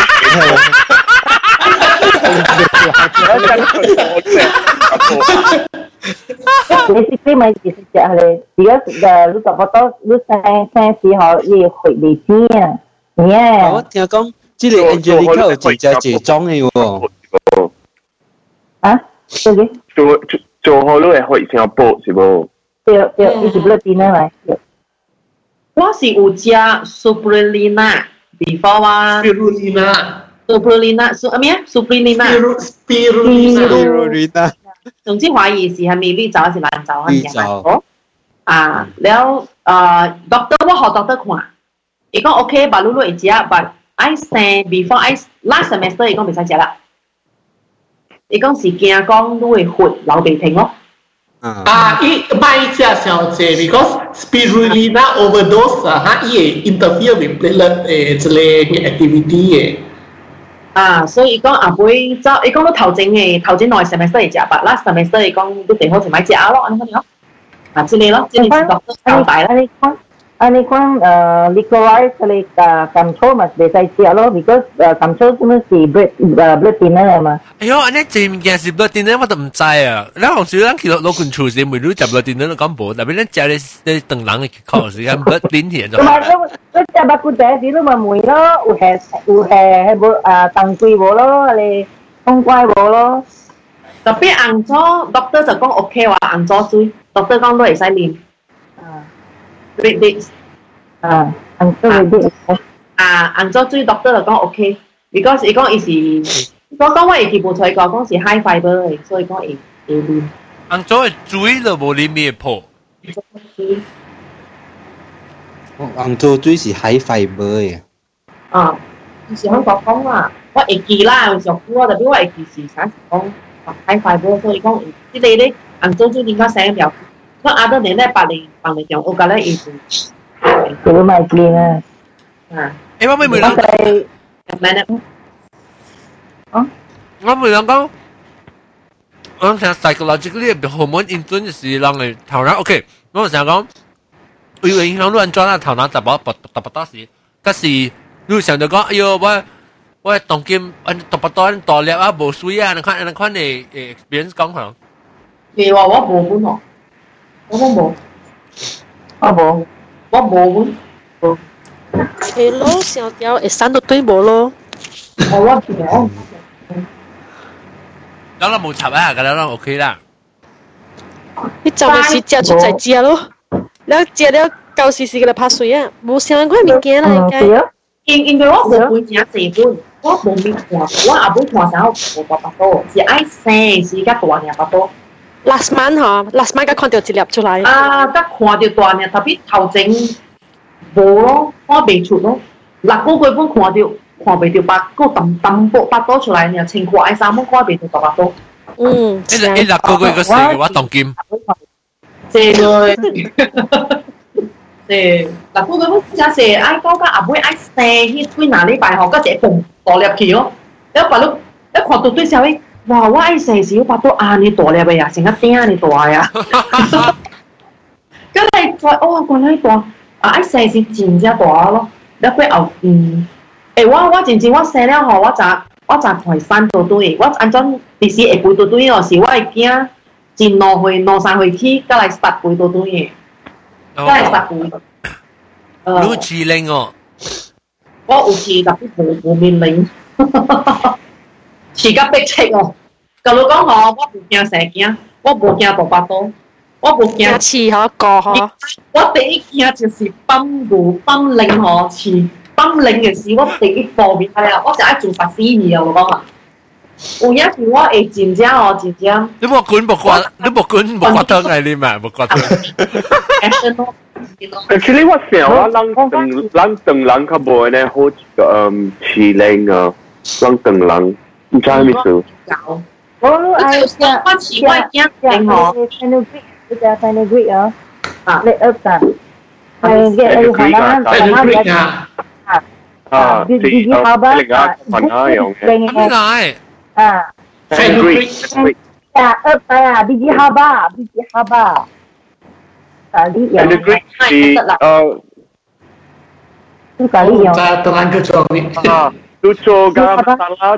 Basically 咪其實就係你而家你差不多你生時候要回嚟先啊， 我聽講，即係 Angelica 有自己裝嘅喎。 啊？ 做好都係回上波是冇？ 對，一直不掂啊咪。 我是有食 Spirulina before 啊。Spirulina 是咩啊 ？Spirulina。總之懷疑是係咪綠洲還是藍洲啊？ 綠洲。 แล้ว doctor 我學 doctor 看，伊講 OK，把露露會食，but I say before I last semester 伊講未使食啦。伊講是驚講都會血流鼻涕咯。 伊賣食小姐 because spirulina overdose 伊會 interfere with platelet 一個 activity 所以伊講後尾走，伊講都頭前兩個 semester 會食，but last semester 伊講都最好是買食咯，安尼咯。之類咯，即係doctor交代啦。 你講legalize 你control 咪未使食咯 ，because control 咁樣是 blood thinner 嘛。 哎呦，安尼這物件是 blood thinner 我都唔知啊。咱好少咱去攞control時，每日食 blood thinner 都講無，特別咱食你當人嘅口時間 blood thinner 就。唔係， 你食白骨仔時都咪梅咯，有係冇當歸無咯，你冬瓜無咯。 特別紅棗 ，doctor 就講 OK 話紅棗水 ，doctor 講都會使啉。red dates。紅棗 red dates。紅棗水 doctor 就講 OK，because 伊講伊是，我講我會記無出個，講是 high fiber 嘅，所以講會啉。 紅棗嘅水就無啉咩破。 紅棗水是 high fiber 嘅。 是香港講啊，我會記啦，有時候我特別我會記是啥時講。high fiber，所以講即係咧，紅棗水點解寫表？我阿多年咧白嚟講，我覺得意思。 佢咪見啊！ 我每兩我每兩講，我成 psychologically hormone influence 是讓你頭腦 OK，我成日講，會影響到人裝啦頭腦突多時，但是你成日講，哎呦我當今讀不到大粒啊，無水啊，你看你 experience 講下。 譬話我冇本喎，我冇，我冇本。 係咯，小條會生到對冇咯。 我冇。 咁我冇插啊，咁樣 OK 啦。 你就係食出在食咯，你食了舊時時嘅嚟拍水啊，冇相關物件啦，應該。 因為我冇本食這本。我冇面看，我阿妹看啥我爸爸多，是愛生是甲大爾巴多。 last month 嗬，last month 甲看到一粒出來。 甲看到大爾，特別頭前無咯，看未出咯。6個月本看未到8個巴多出來呢，穿過愛衫本看未到巴多。 6個月個時嘅話當金。 這個。6個月本真係愛講甲阿妹愛生，迄幾哪禮拜嗬，甲一個大粒去咯，一把你一看到對小誒，哇！我愛生時我把到你大粒嘅呀，成個頂你大呀，咁你再原來大愛生時真正大咯，你過後我真正我生了嗬，我就看3到對，我按怎第時會背到對哦，是我會驚前2歲起，再來10歲到對嘅，再來10歲。 你智齡哦。 我有試特別無面領，試甲逼切哦。假如講嗬，我唔驚蛇驚，我無驚大巴多，我無驚刺嗬個嗬。 我第一驚就是泵牛泵領嗬，刺泵領嘅事，我第一方面係啊，我就愛做法師嘢啊，我講啊。有影時我會真正哦，真正。 你冇管冇刮得係你嘛？冇刮得。 Actually， 我想我咱等人較無呢好飼領啊，咱等人唔知係咩事。 我愛食fenugreek 啊，你噏㗎，fenugreek biji haba fenugreek biji haba kali yang fenugreek tu kali yang terangga curi tu garam masala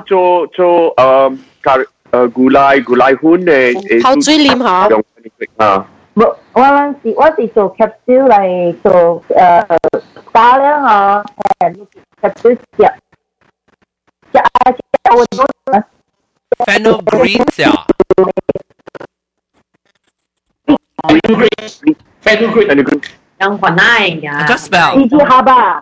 gulai hun de 口水黏下。 用 fenugreek 我是做 capsule 嚟做打了嗬，capsule 食 fenugreek 啊 fenugreek yang panai ya just spell biji haba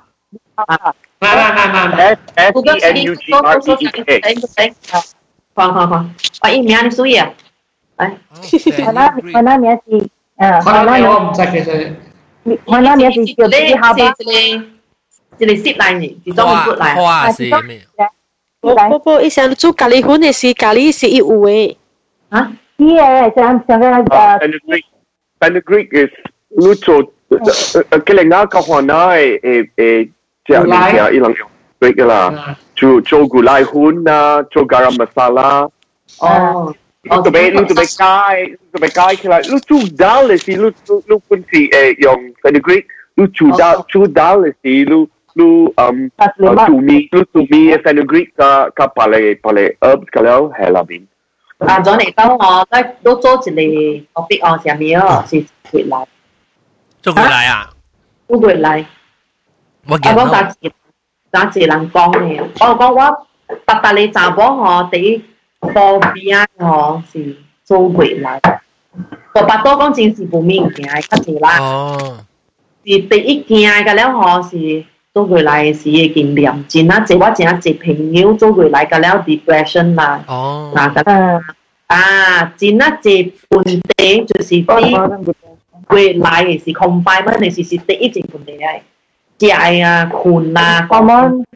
FENUGREEK 好，把伊名你注意啊， 我那名是可能我唔知其實我那年是叫你好吧？ 一个sit来呢，一种骨来。 花是咩？ 不，伊想做咖喱粉的是咖喱是一有诶。 啊？ 是诶，像个 Fenugreek is 你做佢哋啱講話誒即係你聽伊能用 Greek 噶啦，做古拉粉啊，做 garam masala。 哦。 你做咩街起來？你做dal嘅時，你本是用 Fenugreek，你做dal嘅時，你做米嘅 Fenugreek 加把你 herbs 咁樣喺入邊。 啊，咗嚟到我都做一個 topic 哦，上面哦是回來。 做回來啊？ 做回來。我講打字人講嘅，我講我白白你查某吼第一波邊吼是做回來，個白多講真是無物件較濟啦。 哦。 是第一件嘅了吼是做回來是嘅經驗，真啊濟我真啊濟朋友做回來嘅了 depression 啦。 哦。 嗱咁真啊濟問題就是啲。回來嘅是 confinement 嘅是第一件問題係，食啊、困啊， hormone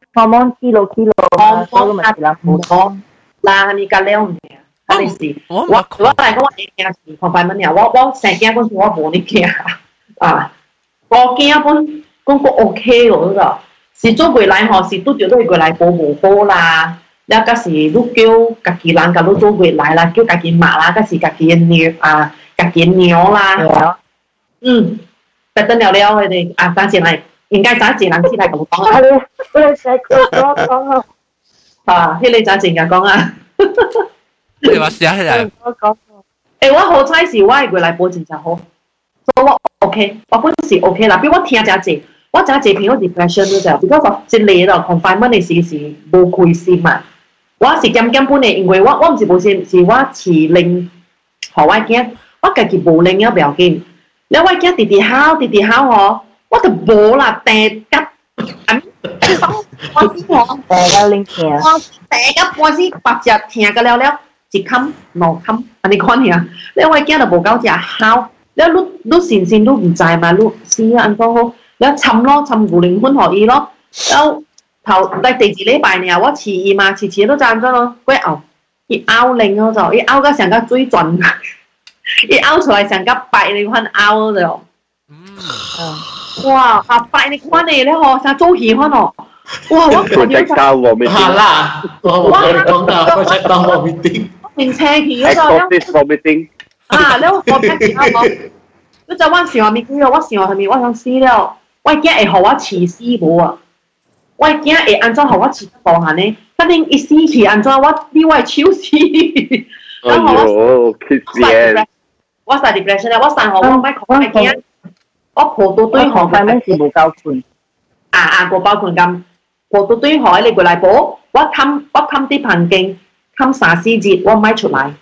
kilo， 唔講，嗱你隔了嘅，係是，我嚟講我會驚是 confinement 啊，我成驚嗰時我冇你驚啊，我驚本講個 OK 喎嗰個，是做回來嗬，是都叫都係回來保護好啦，แล้วก็是都叫家己人甲都做回來啦，叫家己媽啦，ก็是家己嘅家己鳥啦。特登聊聊佢哋啊，暫時嚟，應該暫時人先嚟咁講啊。 我使講啊，迄個暫時嘅講啊。 你話試下嚟。 我講。 誒，我好彩是我係過來保證就好，所以我 OK， 我本是 OK 啦。比如我聽真濟，我真濟朋友 depression 嗰陣，比較說一嚟咯 confinement 嘅時是無開心嘛。我是減本嘅，因為我唔是無先，是我飼令，何我驚，我家己無令了不要緊。แล้วว่าแกติดๆเฮาหรอว่าแต่โบล่ะแต่กับอันว่าสิหรอแต่ก็ลิงเทียแต่กับว่าสิปัจจัยเทียกันแล้วจิคำนอคำอันนี้คนเนี่ยแล้วว่าแกน่ะโบเก้าจะเฮาแล้วลูกสินลูก唔ใจมาลูกเสียอันก็แล้วชำกูลิงคนหออี咯แล้ว頭第4禮拜呢我遲二嘛遲都賺咗咯佢拗一拗令咯就一拗個成個水準一拗出來成個白你看拗咗，哇！啊白你看你咧嗬，成做戲看哦，哇！我做隻膠我未係啦，我講到我隻膠我未定， 面車戲嗰個咧，啊！咧我聽住我，你就我想咪叫我想係咪我想死了，我驚會學我黐死冇啊！我驚會安怎學我黐無限呢？肯定一死去安怎我比我超死， 然後我我曬 depression 咧，我曬學我唔係講係驚，我破到堆學係咩事冇夠盤？ 個包盤咁破到堆學你過嚟補，我冚啲棚徑，冚3-4節，我唔係出嚟，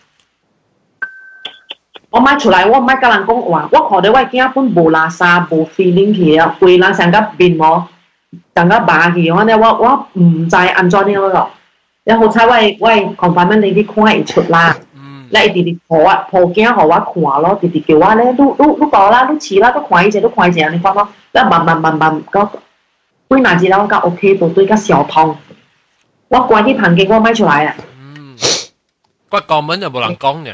我唔係跟人講話，我學到我驚本無垃圾無 feeling 去啊，回來成個變我成個霸氣，我唔知安怎呢個，你好彩我 confinement 你啲看會出啦。你直直抱鏡互我看咯，直直叫我咧，你過啦，你試啦，你看一下，你看咯，你慢，個幾拿字啦，我 OK 到對個小痛，我關啲棚鏡我買出來啊。 我講文就冇人講嘅。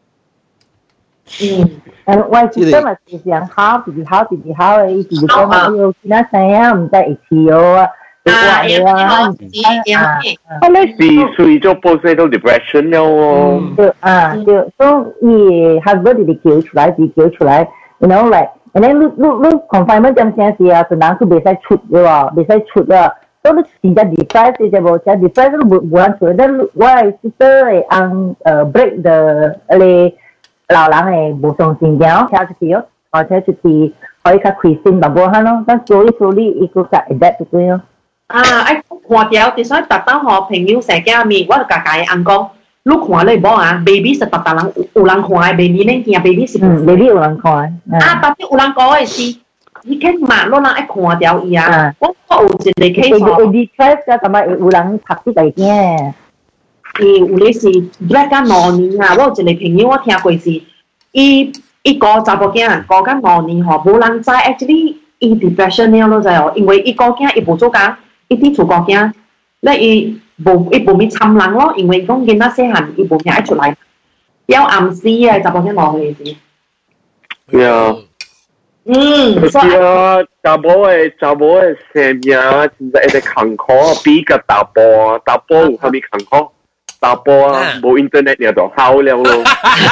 我今日是想考，直直考嘅，直直講嘛，要其他聲啊，唔得一次啊。 是屬於咗 postnatal depression 了喎。 對，所以husband 直叫出來 ，you know like，and then 你 confinement 咁陣時啊，就人佢未使出嘅喎，未使出啊，所以你真係 depress 嘅冇，真 depress 都冇人出，但我係 sister 係按break 的你老人係冇上線嘅，聽出去哦，或者出去可以較開心淡薄下咯，但 slowly 一個個 adapt 到佢咯。 看掉，所以特登學朋友成家面，我就家人講，你看你冇啊 ，baby 是特人有人看嘅 ，baby 呢件 baby 是 baby 有人看。 但係有人講嘅是，你看嘛，攞人愛看掉伊啊，我有一個 case。 depress 嘅，同埋有人拍啲嚟嘅。 有咧是 black 啊，2年啊，我有一個朋友我聽過是，伊伊個查甫囝個甲5年吼，無人知 actually 伊 depression 了咯，知哦，因為伊個囝伊無做工，伊佇厝個囝，咧伊無咪參人咯，因為講囡仔細漢伊無命愛出來，要暗死啊，查甫囝5歲時。 呀。是啊，查某嘅生命真係一個坎坷，比個大波有啥物坎坷？大波啊，冇 internet 你就好了咯。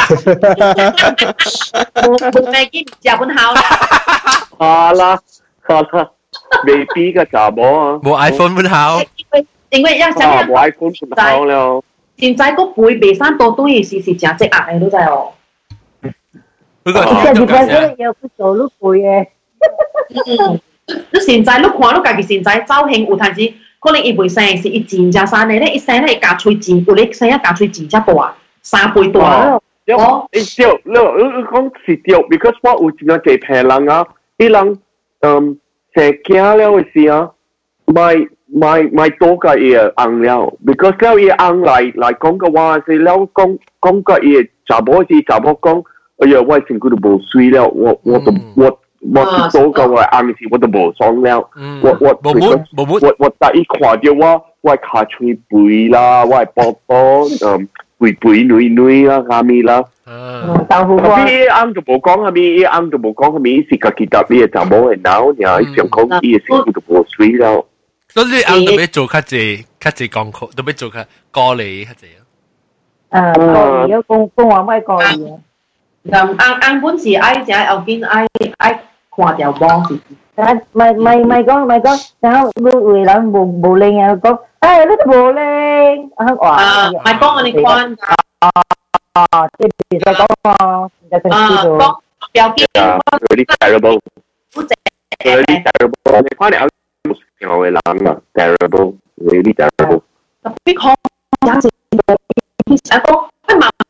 冇咩見食本好啦。 好啦，未比個查某啊。 冇 iPhone 本好。 因為要想冇 iPhone 本好了。 現在個背背山多對是真積壓嘅，都知哦。 即係而家嗰啲有佢做碌背嘅。 你現在你看你家己現在造型有陣時，可能伊袂生是伊真正生嘅咧，伊生咧加喙真，有咧生一加喙真只大，3倍大。 哦，你講是對 ，because 我有真係幾平人啊，啲人生囝了嘅時啊，買多個嘢紅了 ，because 了嘢紅嚟講嘅話是了講個嘢查某講。哎呀，我身軀都無水了，我多個我暗時我都無爽了，我第一看到我骹喙肥啦，我波肥女啦，蝦米啦， 豆腐花。 伊啱就無講蝦米，是家己搭你嘅查某嘅腦，然後想講伊嘅身軀都無水了。 所以你啱都要做較濟功課，都要做較高哩較濟。 高哩，講話咩高哩？ 按本是愛食後邊愛看條光是。 咪講，然後你為人無靈啊講，你都無靈，話。 咪講我哋講。 即係其實講講表記。 Really terrible. Really terrible. 你看你有有嘅人啊 ，terrible. Really terrible. 特別講有時其實講乜嘛。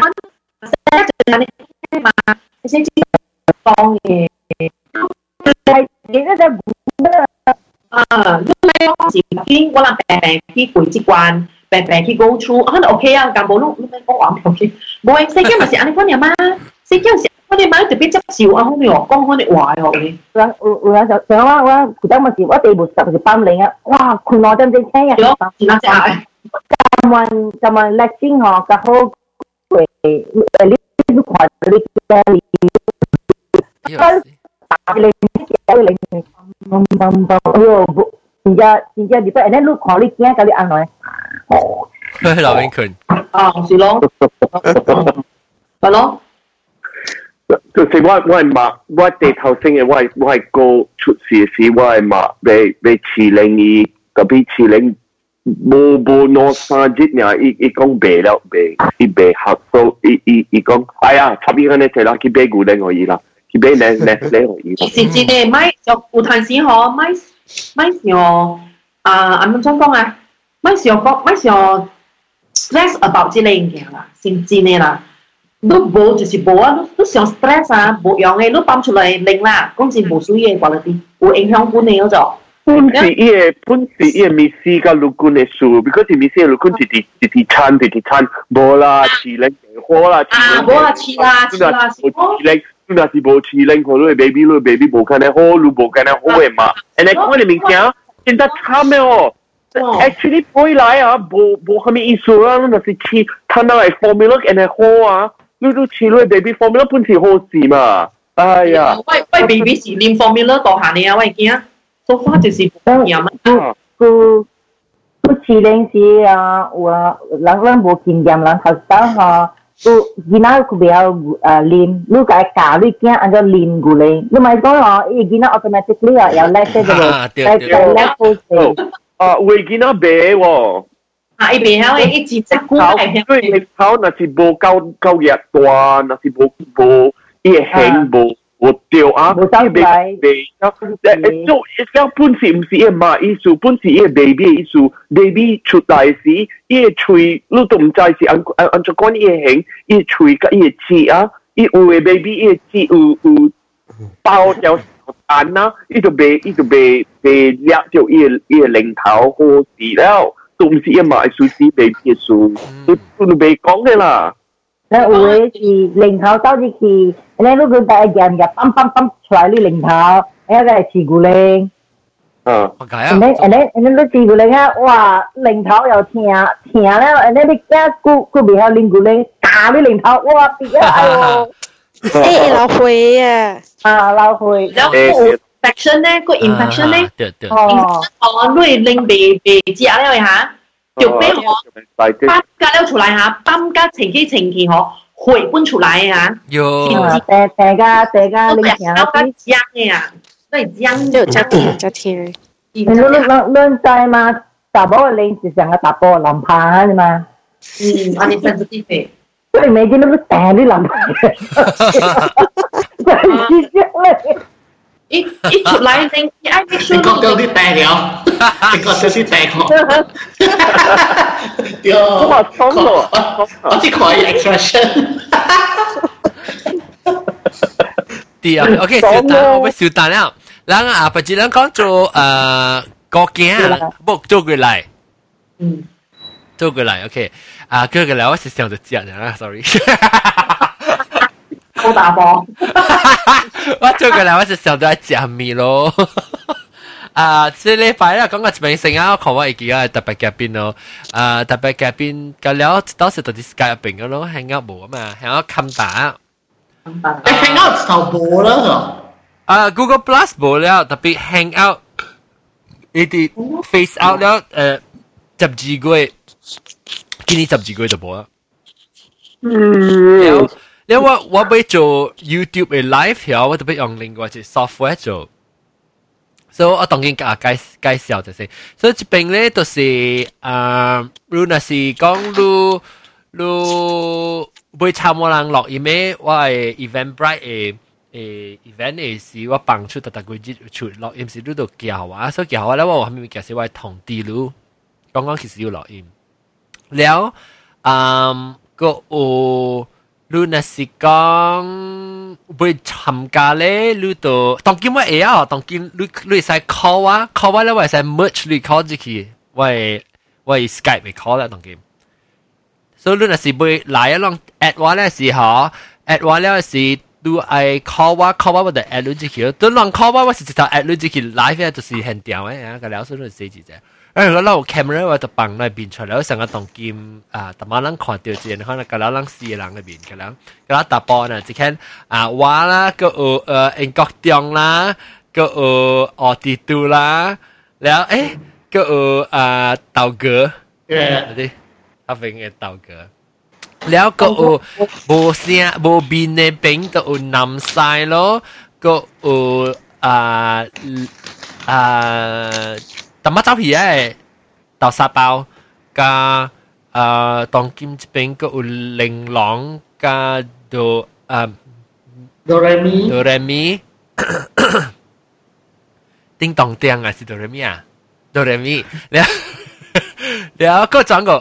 嘛，你先知講嘅，係你嗰隻你講時邊我能病去背之關，病去 go through， 可能 OK 啊，但冇你講話唔 OK， 冇誒，世間咪是安尼講嘢嘛，世間是我哋買特別執笑啊，好你講我哋話嘅， 有就上我其他咪是我地部實是班領啊，哇，佢攞真正聽日，咁問叻先學嘅好誒。你看你家里，打你哎呦，真正你不，然後你看你驚，甲你安來， 老邊群， 是咯，係咯。 就是我係罵，我地頭先嘅，我係個出事時，我係罵被702，特別702。無攞3日呢，伊講白了白，伊白學數，伊講，哎呀，插伊個呢，就啦，佢白牛奶可以啦，佢白奶可以。 是真嘅，咪就有陣時嗬，咪上咁樣講啊，咪上 stress about 之類嘅啦，先真嘅啦。你無就是無啊，你上 stress 啊，無用嘅，你放出來零啦，講是無需要嘅嗰啲，有影響本嘅嗰種。 本是伊個密斯甲陸軍嘅書 ，because 密斯嘅陸軍直餐，無啦，702好啦， 無啦，702， 你若是無702，可能 baby 無可能好，你無可能好嘅嘛。and 我哋明顯現在慘嘅哦 ，actually 背來啊，無蝦米意思啦，你若是睇到係 formula and 好啊，你都702 baby formula 本是好事嘛，哎呀， 喂 baby 是練 formula 大下你啊，喂見啊！做法就是唔一樣啊！ 佢702時啊，人無經驗，人學生嚇，佢囡仔佢比較練，你個教你驚按照練過嚟，你咪講哦，伊囡仔 automatically 啊有叻些嘅咯，係叻好些。 會囡仔白喎。 伊白曉嘅，伊只隻股係曉。因為頭若是無夠熱大，若是無伊輕無。我掉啊！ 冇收仔， 做一本是唔是一馬意思，本是一 baby 意思 ，baby 出來時，伊個喙你都唔知是按照講伊個形，伊個喙甲伊個舌啊，伊有個 baby 伊個舌有包條蛋啊，伊就未掠着伊個零頭好事了，都唔是一馬意思是 baby 嘅事，都未講嘅啦。 咧有诶是零頭走入去，咧你佢第一件嘅梆梆梆出來你零頭，一個係刺骨鈴。 點解啊？ 你刺骨鈴啊，哇！零頭又聽咧，你驚佢未有零骨鈴，打你零頭，哇！跌啊！哎呦！ 誒，老灰啊！ 啊，老灰。 然後個 infection 咧，個 infection 咧，你令未知啊咧嚇。就俾我搬家了出來嚇，搬家前期嗬，回搬出來嚇。 有。 大家你聽啊，都係講嘅啊，都係講就真聽。 你知嘛？打波零是成個打波籃排嘛？ 我哋真係啲嘅。 所以未見到打啲籃排嘅。 一出來你愛make sure 你覺得啲大了，你覺得啲大個，對，我只可以 expression。 對啊 ，OK， 小蛋，我小蛋了。然後啊，不只能講做國鏡，不做過來，做過來 ，OK， 啊，做過來我是想着講啦 ，sorry。 好打波， 我做過來我是想到食麵咯。啊，這禮拜啦，講個一邊先啊，我看我會記啊特別嘉賓咯。啊，特別嘉賓個了，當時到啲 Skype 入邊個咯，hang out 冇啊嘛，hang out 冚打。 hang out 就冇啦， 啊 ，Google Plus 冇了，特別 hang out，呢啲 face out 了，12個月，今年12個月就冇啦。因為我要做 YouTube 嘅 live 我特別用另外一個 software 做，所以我當然介紹就先。所以這邊咧都是如果是講如會參與人錄音嘅，我係 Eventbrite 嘅event 嘅是我幫出特個節出錄音是喺度教啊，所以教我咧我後面其實我係同啲路講其實要錄音，แล้ว個有。如果是講會參加咧，你都當今我會啊，當今你會使 call 啊 ，call 我咧會使 merge 你 call 進去，我 Skype 會 call 啦當今。所以你若是會來一浪 at 我咧時候 ，at 我咧是你愛 call 我就 at 你進去，都浪 call 我是直接 at 你進去 live 咧就是很屌嘅，啊個了所以四字啫。我攞 camera 我就放那邊出來，我成個當劍啊，特晚人看到之後，可能個人4人那邊，個人打波呢，只看我啦，個英國中啦，個地圖啦，然後個道哥，對，阿邊嘅道哥，然後個無聲無邊嘅邊都有南西咯，個特乜走皮誒，豆沙包加當金這邊個有玲瓏加哆來咪，叮當叮啊是哆來咪啊，哆來咪，แล้วก็จัง個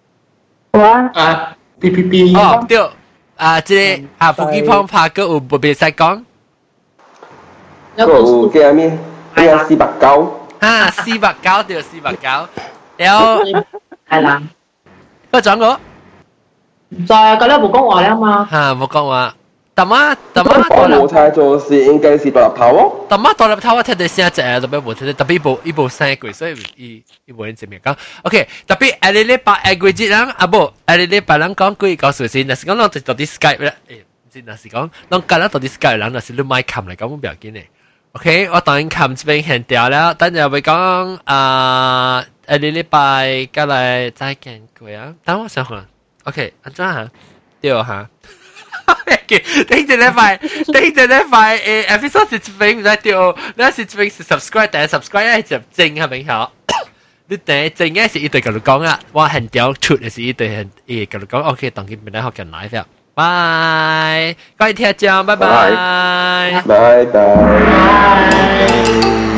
PPP 哦對即係福建方拍個有別使講， 個有叫咩？489。 489對489，แล้ว係啦， 個講個， 唔再嗰啲冇講話啦嘛， 冇講話，但係我冇猜做是應該是獨立頭哦， 但係獨立頭我聽到聲只特別冇聽到，特別一部聲貴，所以一部人正面講，OK，特別下禮拜貴節人啊不，下禮拜人講貴告訴先，但是講我到啲 Skype 咧，唔知但是講，我隔咗到啲 Skype 人，但是你買琴嚟講冇表現嘅。OK， 我當然琴這邊很掉了，等陣會講下禮拜過來再見過啊。等我想下 ，OK， 安怎嚇？對嚇。等陣禮拜episode 是這邊唔使掉，你是這邊是 subscribe， 但係 subscribe 係就正係咪好？你等正嘅是一對跟你講啊，我很掉出嘅是一對很跟你講 ，OK， 當然唔得學緊 live 啦。拜，各位聽眾，拜拜， 拜拜。